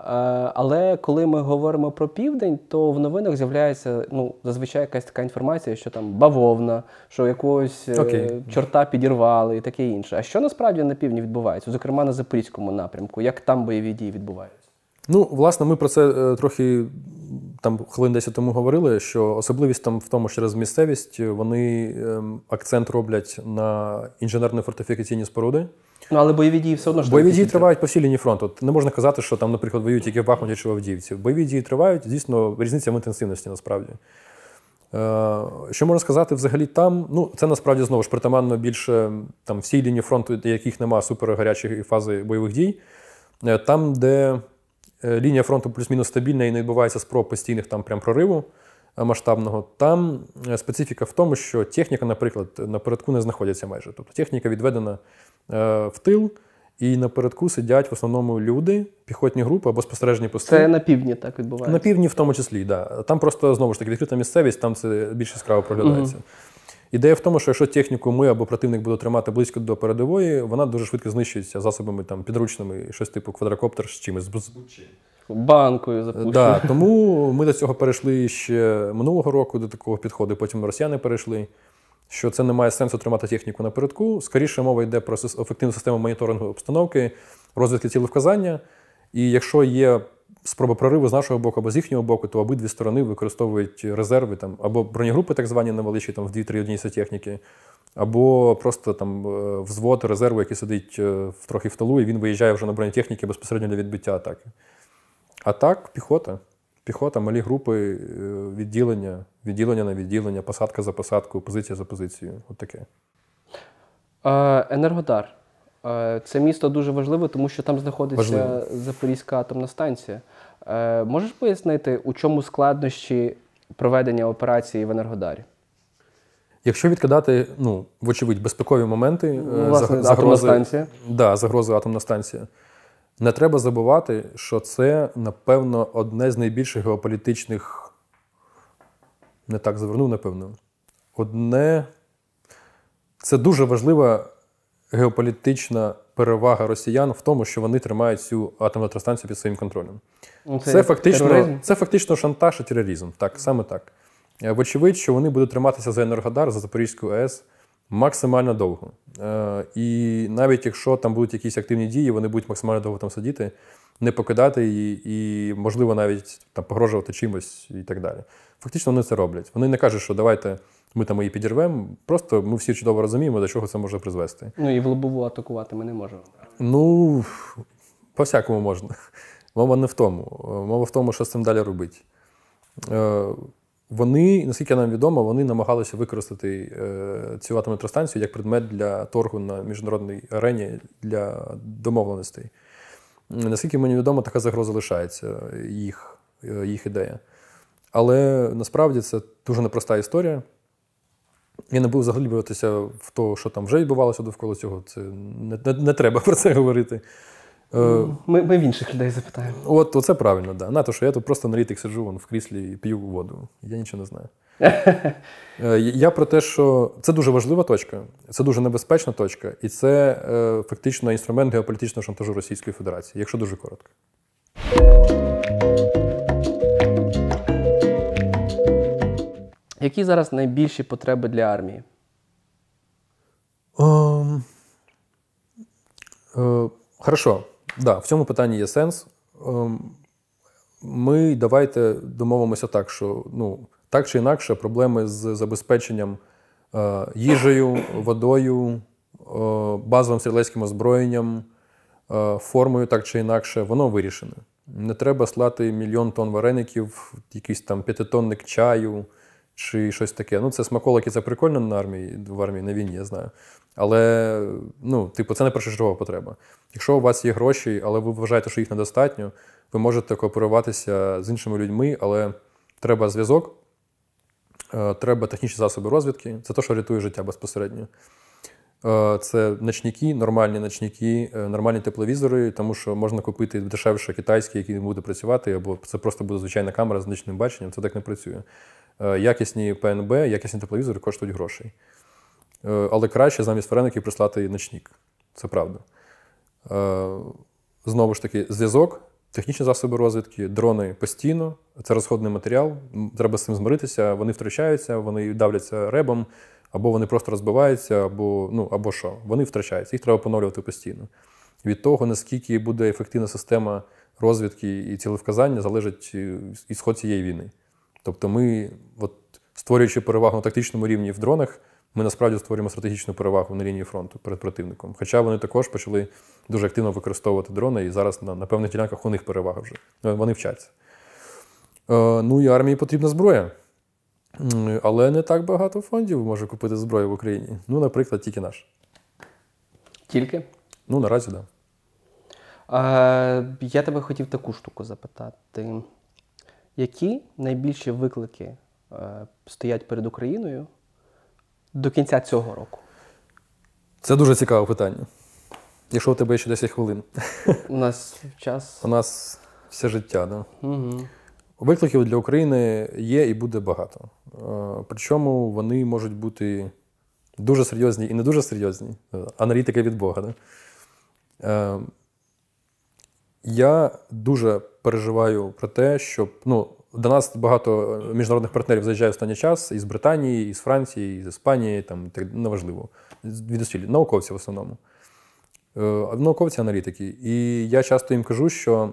Але коли ми говоримо про Південь, то в новинах з'являється ну, зазвичай якась така інформація, що там бавовна, що якогось okay. чорта підірвали і таке інше. А що насправді на півдні відбувається? Зокрема, на Запорізькому напрямку. Як там бойові дії відбуваються? Ну, власне, ми про це е, трохи там хвилин десять тому говорили, що особливість там в тому, що через місцевість вони е, акцент роблять на інженерно-фортифікаційні споруди. Ну, але бойові дії все одно ж... Бойові дії тривають по всій лінії фронту. Не можна казати, що там, наприклад, воюють тільки в Бахмуті чи в Авдіївці. Бойові дії тривають, дійсно, різниця в інтенсивності, насправді. Е, що можна сказати взагалі там? Ну, це, насправді, знову ж, притаманно більше там всій лінії фронту, для яких немає супергарячої фази бойових дій. Е, там, де лінія фронту плюс-мінус стабільна і не відбувається спроб постійних там прям прориву масштабного. Там специфіка в тому, що техніка, наприклад, напередку не знаходиться майже. Тобто техніка відведена е, в тил, і напередку сидять в основному люди, піхотні групи або спостережні пости. Це на півдні так відбувається? На півдні в тому числі, так. Да. Там просто, знову ж таки, відкрита місцевість, там це більш яскраво проглядається. Угу. Ідея в тому, що якщо техніку ми або противник буде тримати близько до передової, вона дуже швидко знищується засобами там, підручними, щось типу квадрокоптер з чимось. Банкою запущено. Да, тому ми до цього перейшли ще минулого року, до такого підходу, потім росіяни перейшли, що це не має сенсу тримати техніку напередку. Скоріше мова йде про ефективну систему моніторингу обстановки, розвідки цілевказання. І якщо є спроба прориву з нашого боку або з їхнього боку, то обидві сторони використовують резерви там, або бронегрупи так звані невеличкі, там, в дві-три одиниці техніки, або просто там взвод резерву, який сидить в, трохи в тилу, і він виїжджає вже на бронетехніки безпосередньо для відбиття атаки. А так, піхота. Піхота, малі групи, відділення, відділення на відділення, посадка за посадкою, позиція за позицією. От таке. Енергодар. Це місто дуже важливе, тому що там знаходиться Важливо. Запорізька атомна станція. Можеш пояснити, у чому складнощі проведення операції в Енергодарі? Якщо відкидати, ну, вочевидь, безпекові моменти, Ну, власне, атомна станція. Да, загрози атомна станція, не треба забувати, що це, напевно, одне з найбільших геополітичних, не так завернув, напевно, одне, це дуже важлива геополітична перевага росіян в тому, що вони тримають цю атомну електростанцію під своїм контролем. Ну, Це, це, фактично, це фактично шантаж і тероризм. Так, саме так. Вочевидь, що вони будуть триматися за Енергодар, за Запорізьку АЕС максимально довго. І навіть якщо там будуть якісь активні дії, вони будуть максимально довго там сидіти, не покидати її і, можливо, навіть там погрожувати чимось і так далі. Фактично вони це роблять. Вони не кажуть, що давайте ми там її підірвемо, просто ми всі чудово розуміємо, до чого це може призвести. Ну і в лобову атакувати ми не можемо. Ну, по-всякому можна. Мова не в тому. Мова в тому, що з цим далі робити. Вони, наскільки нам відомо, вони намагалися використати цю атомну електростанцію як предмет для торгу на міжнародній арені для домовленостей. Наскільки мені відомо, така загроза лишається, їх, їх ідея. Але насправді це дуже непроста історія. Я не буду заглиблюватися в те, що там вже відбувалося довкола цього. Це не, не, не треба про це говорити. Ми, ми в інших людей запитаємо. От, оце правильно, да. На те, що я тут просто аналітик сиджу вон, в кріслі і п'ю воду. Я нічого не знаю. Я про те, що це дуже важлива точка, це дуже небезпечна точка, і це е, фактично інструмент геополітичного шантажу Російської Федерації, якщо дуже коротко. Які зараз найбільші потреби для армії? Um, uh, хорошо. Да, в цьому питанні є сенс. Um, ми давайте домовимося так, що ну, так чи інакше проблеми з забезпеченням uh, їжею, водою, uh, базовим стрілецьким озброєнням, uh, формою так чи інакше, воно вирішене. Не треба слати мільйон тонн вареників, якийсь там п'ятитонник чаю, чи щось таке. Ну, це смаколики, це прикольно на армії, в армії, на війні, я знаю. Але, ну, типу, це не першочергова потреба. Якщо у вас є гроші, але ви вважаєте, що їх недостатньо, ви можете кооперуватися з іншими людьми, але треба зв'язок, треба технічні засоби розвідки. Це те, що рятує життя безпосередньо. Це ночники, нормальні ночники, нормальні тепловізори, тому що можна купити дешевше китайські, які не буде працювати, або це просто буде звичайна камера з нічним баченням, це так не працює. Якісні пе ен бе, якісні тепловізори коштують грошей. Але краще замість вареників прислати ночник. Це правда. Знову ж таки, зв'язок, технічні засоби розвідки, дрони постійно, це розходний матеріал, треба з цим змиритися, вони втрачаються, вони давляться ребом, або вони просто розбиваються, або, ну, або що, вони втрачаються, їх треба поновлювати постійно. Від того, наскільки буде ефективна система розвідки і цілевказання, залежить ісход цієї війни. Тобто ми, от, створюючи перевагу на тактичному рівні в дронах, ми насправді створюємо стратегічну перевагу на лінії фронту перед противником. Хоча вони також почали дуже активно використовувати дрони, і зараз на, на певних ділянках у них перевага вже. Вони вчаться. Е, ну і армії потрібна зброя. Але не так багато фондів може купити зброю в Україні. Ну, наприклад, тільки наш. Тільки? Ну, наразі, так. Да. Е, я тебе хотів таку штуку запитати. Які найбільші виклики е, стоять перед Україною до кінця цього року? Це дуже цікаве питання. Якщо у тебе є ще десять хвилин. У нас час. У нас все життя, так? Да? Угу. Викликів для України є і буде багато. Причому вони можуть бути дуже серйозні і не дуже серйозні. Аналітика від Бога. Да? Я дуже переживаю про те, щоб... Ну, до нас багато міжнародних партнерів заїжджає в останній час із Британії, із Франції, із Іспанії, там, так, неважливо. Від усіль. Науковці в основному. Науковці-аналітики. І я часто їм кажу, що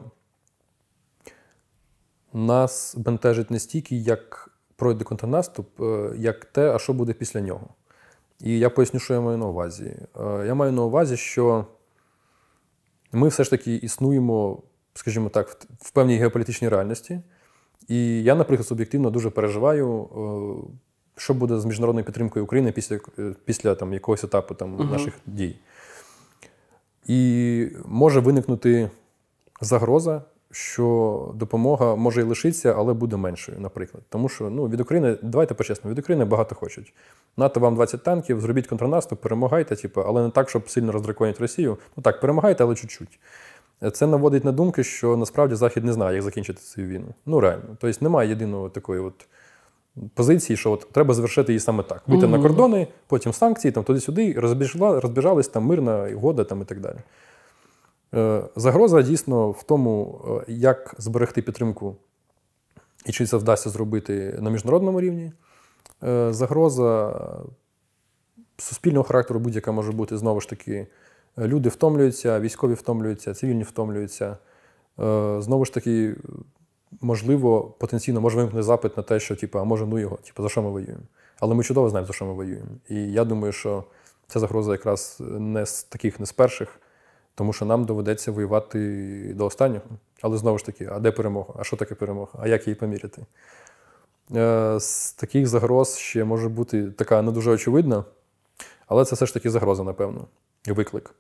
нас бентежить не стільки, як пройде контрнаступ, як те, а що буде після нього. І я поясню, що я маю на увазі. Я маю на увазі, що ми все ж таки існуємо, скажімо так, в певній геополітичній реальності. І я, наприклад, суб'єктивно дуже переживаю, що буде з міжнародною підтримкою України після, після там, якогось етапу там, uh-huh. наших дій. І може виникнути загроза, що допомога може і лишитися, але буде меншою, наприклад. Тому що ну, від України, давайте по-чесному, від України багато хочуть. НАТО вам двадцять танків, зробіть контрнаступ, перемагайте, типу, але не так, щоб сильно роздраконити Росію. Ну так, перемагайте, але чуть-чуть. Це наводить на думки, що насправді Захід не знає, як закінчити цю війну. Ну реально. Тобто немає єдиної такої от позиції, що от треба завершити її саме так. Вийти mm-hmm. на кордони, потім санкції, там туди-сюди, розбіжали, розбіжались, там мирна угода там, і так далі. Е, загроза дійсно в тому, як зберегти підтримку і чи це вдасться зробити на міжнародному рівні. Е, загроза суспільного характеру будь-яка може бути, знову ж таки, люди втомлюються, військові втомлюються, цивільні втомлюються. Е, знову ж таки, можливо, потенційно може виникнути запит на те, що, типу, а може, ну його, типу, за що ми воюємо. Але ми чудово знаємо, за що ми воюємо. І я думаю, що ця загроза якраз не з таких, не з перших, тому що нам доведеться воювати до останнього. Але знову ж таки, а де перемога? А що таке перемога? А як її поміряти? Е, з таких загроз ще може бути така не дуже очевидна, але це все ж таки загроза, напевно, і виклик.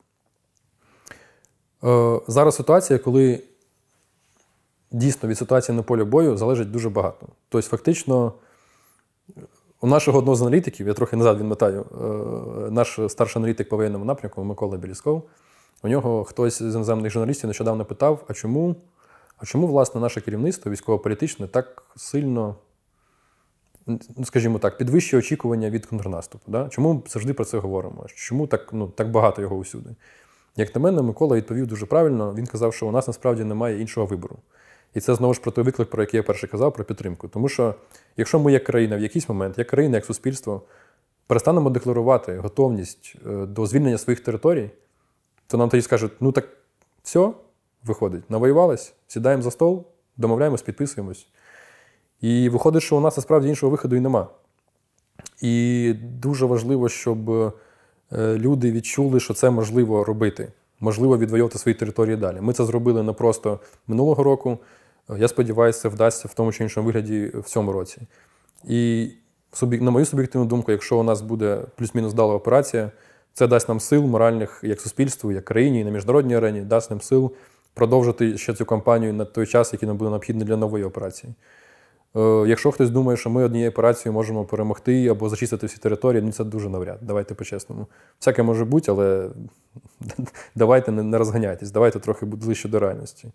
Е, зараз ситуація, коли дійсно від ситуації на полі бою залежить дуже багато. Тобто, фактично, у нашого одного з аналітиків, я трохи назад відмотаю, наш старший аналітик по воєнному напрямку Микола Белісков, у нього хтось з іноземних журналістів нещодавно питав, а чому, а чому власне, наше керівництво військово-політичне так сильно, ну, скажімо так, підвищує очікування від контрнаступу? Да? Чому ми завжди про це говоримо? Чому так, ну, так багато його усюди? Як на мене, Микола відповів дуже правильно. Він казав, що у нас насправді немає іншого вибору. І це знову ж про той виклик, про який я перше казав, про підтримку. Тому що, якщо ми як країна в якийсь момент, як країна, як суспільство, перестанемо декларувати готовність до звільнення своїх територій, то нам тоді скажуть, ну так все, виходить, навоювались, сідаємо за стол, домовляємось, підписуємось. І виходить, що у нас насправді іншого виходу і нема. І дуже важливо, щоб люди відчули, що це можливо робити. Можливо відвоювати свої території далі. Ми це зробили не просто минулого року. Я сподіваюся, це вдасться в тому чи іншому вигляді в цьому році. І, на мою суб'єктивну думку, якщо у нас буде плюс-мінус вдала операція, це дасть нам сил моральних як суспільству, як країні, і на міжнародній арені, дасть нам сил продовжити ще цю кампанію на той час, який нам буде необхідний для нової операції. Якщо хтось думає, що ми однією операцією можемо перемогти або зачистити всі території, ну це дуже навряд. Давайте по-чесному. Всяке може бути, але давайте не розганяйтесь, давайте трохи ближче до реальності.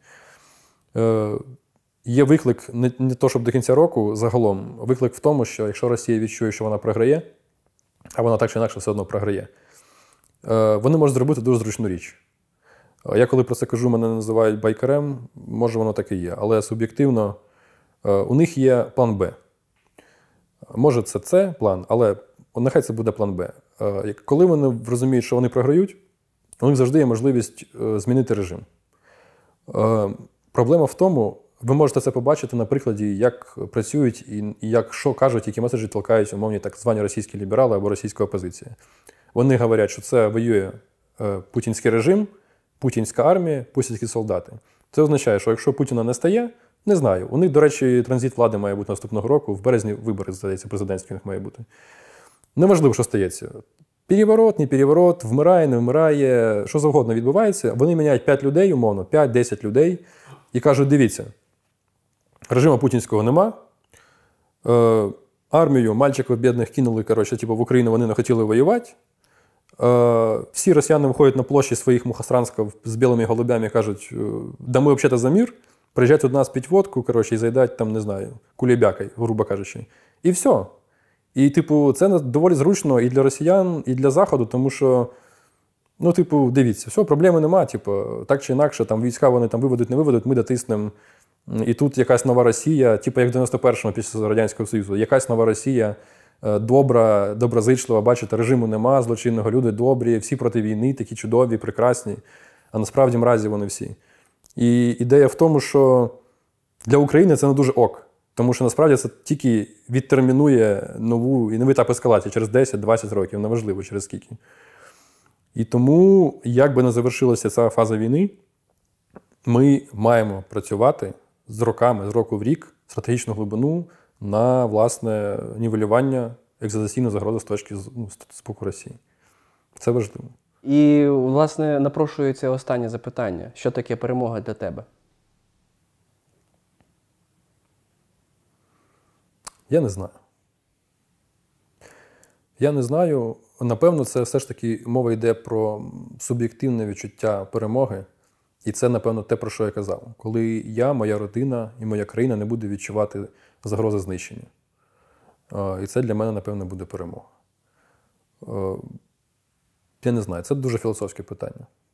Є виклик не, не то, щоб до кінця року, загалом, виклик в тому, що якщо Росія відчує, що вона програє, а вона так чи інакше все одно програє, вони можуть зробити дуже зручну річ. Я коли про це кажу, мене називають байкарем, може воно так і є, але суб'єктивно у них є план Б. Може це С план, але нехай це буде план Б. Коли вони розуміють, що вони програють, у них завжди є можливість змінити режим. Проблема в тому, ви можете це побачити на прикладі, як працюють і як що кажуть, які меседжі толкають умовні так звані російські ліберали або російська опозиція. Вони говорять, що це воює путінський режим, путінська армія, путінські солдати. Це означає, що якщо Путіна не стає, не знаю. У них, до речі, транзит влади має бути наступного року, в березні вибори, здається, президентські у них має бути. Неважливо, що стається. Переворот, не переворот, вмирає, не вмирає, що завгодно відбувається. Вони міняють п'ять людей, умовно, п'ять-десять людей, і кажуть, дивіться, режиму путінського нема, е, армію мальчиків бідних кинули, коротше, типу, в Україну вони не хотіли воювати, е, всі росіяни виходять на площі своїх мухостранськів з білими голубями і кажуть, да ми взагалі за мир, приїжджають до нас пить водку, коротше, і заїдають там, не знаю, кулебякою, грубо кажучи. І все. І, типу, це доволі зручно і для росіян, і для Заходу, тому що, ну, типу, дивіться, все, проблеми нема, типу, так чи інакше, там війська вони там виведуть, не виведуть, ми дотиснемо. І тут якась нова Росія, типу, як в дев'яносто першому після Радянського Союзу, якась нова Росія, добра, доброзичлива, бачите, режиму нема, злочинного, люди добрі, всі проти війни, такі чудові, прекрасні, а насправді мразі вони всі. І ідея в тому, що для України це не дуже ок. Тому що насправді це тільки відтермінує нову і новий етап ескалації через десять-двадцять років, неважливо через скільки. І тому, як би не завершилася ця фаза війни, ми маємо працювати з роками, з року в рік, стратегічну глибину на, власне, нівелювання екзистенційної загрози з точки ну, з боку Росії. Це важливо. І, власне, напрошується останнє запитання. Що таке перемога для тебе? Я не знаю. Я не знаю. Напевно, це все ж таки мова йде про суб'єктивне відчуття перемоги. І це, напевно, те, про що я казав. Коли я, моя родина і моя країна не буде відчувати загрози знищення. І це для мене, напевно, буде перемога. Я не знаю, це дуже філософське питання.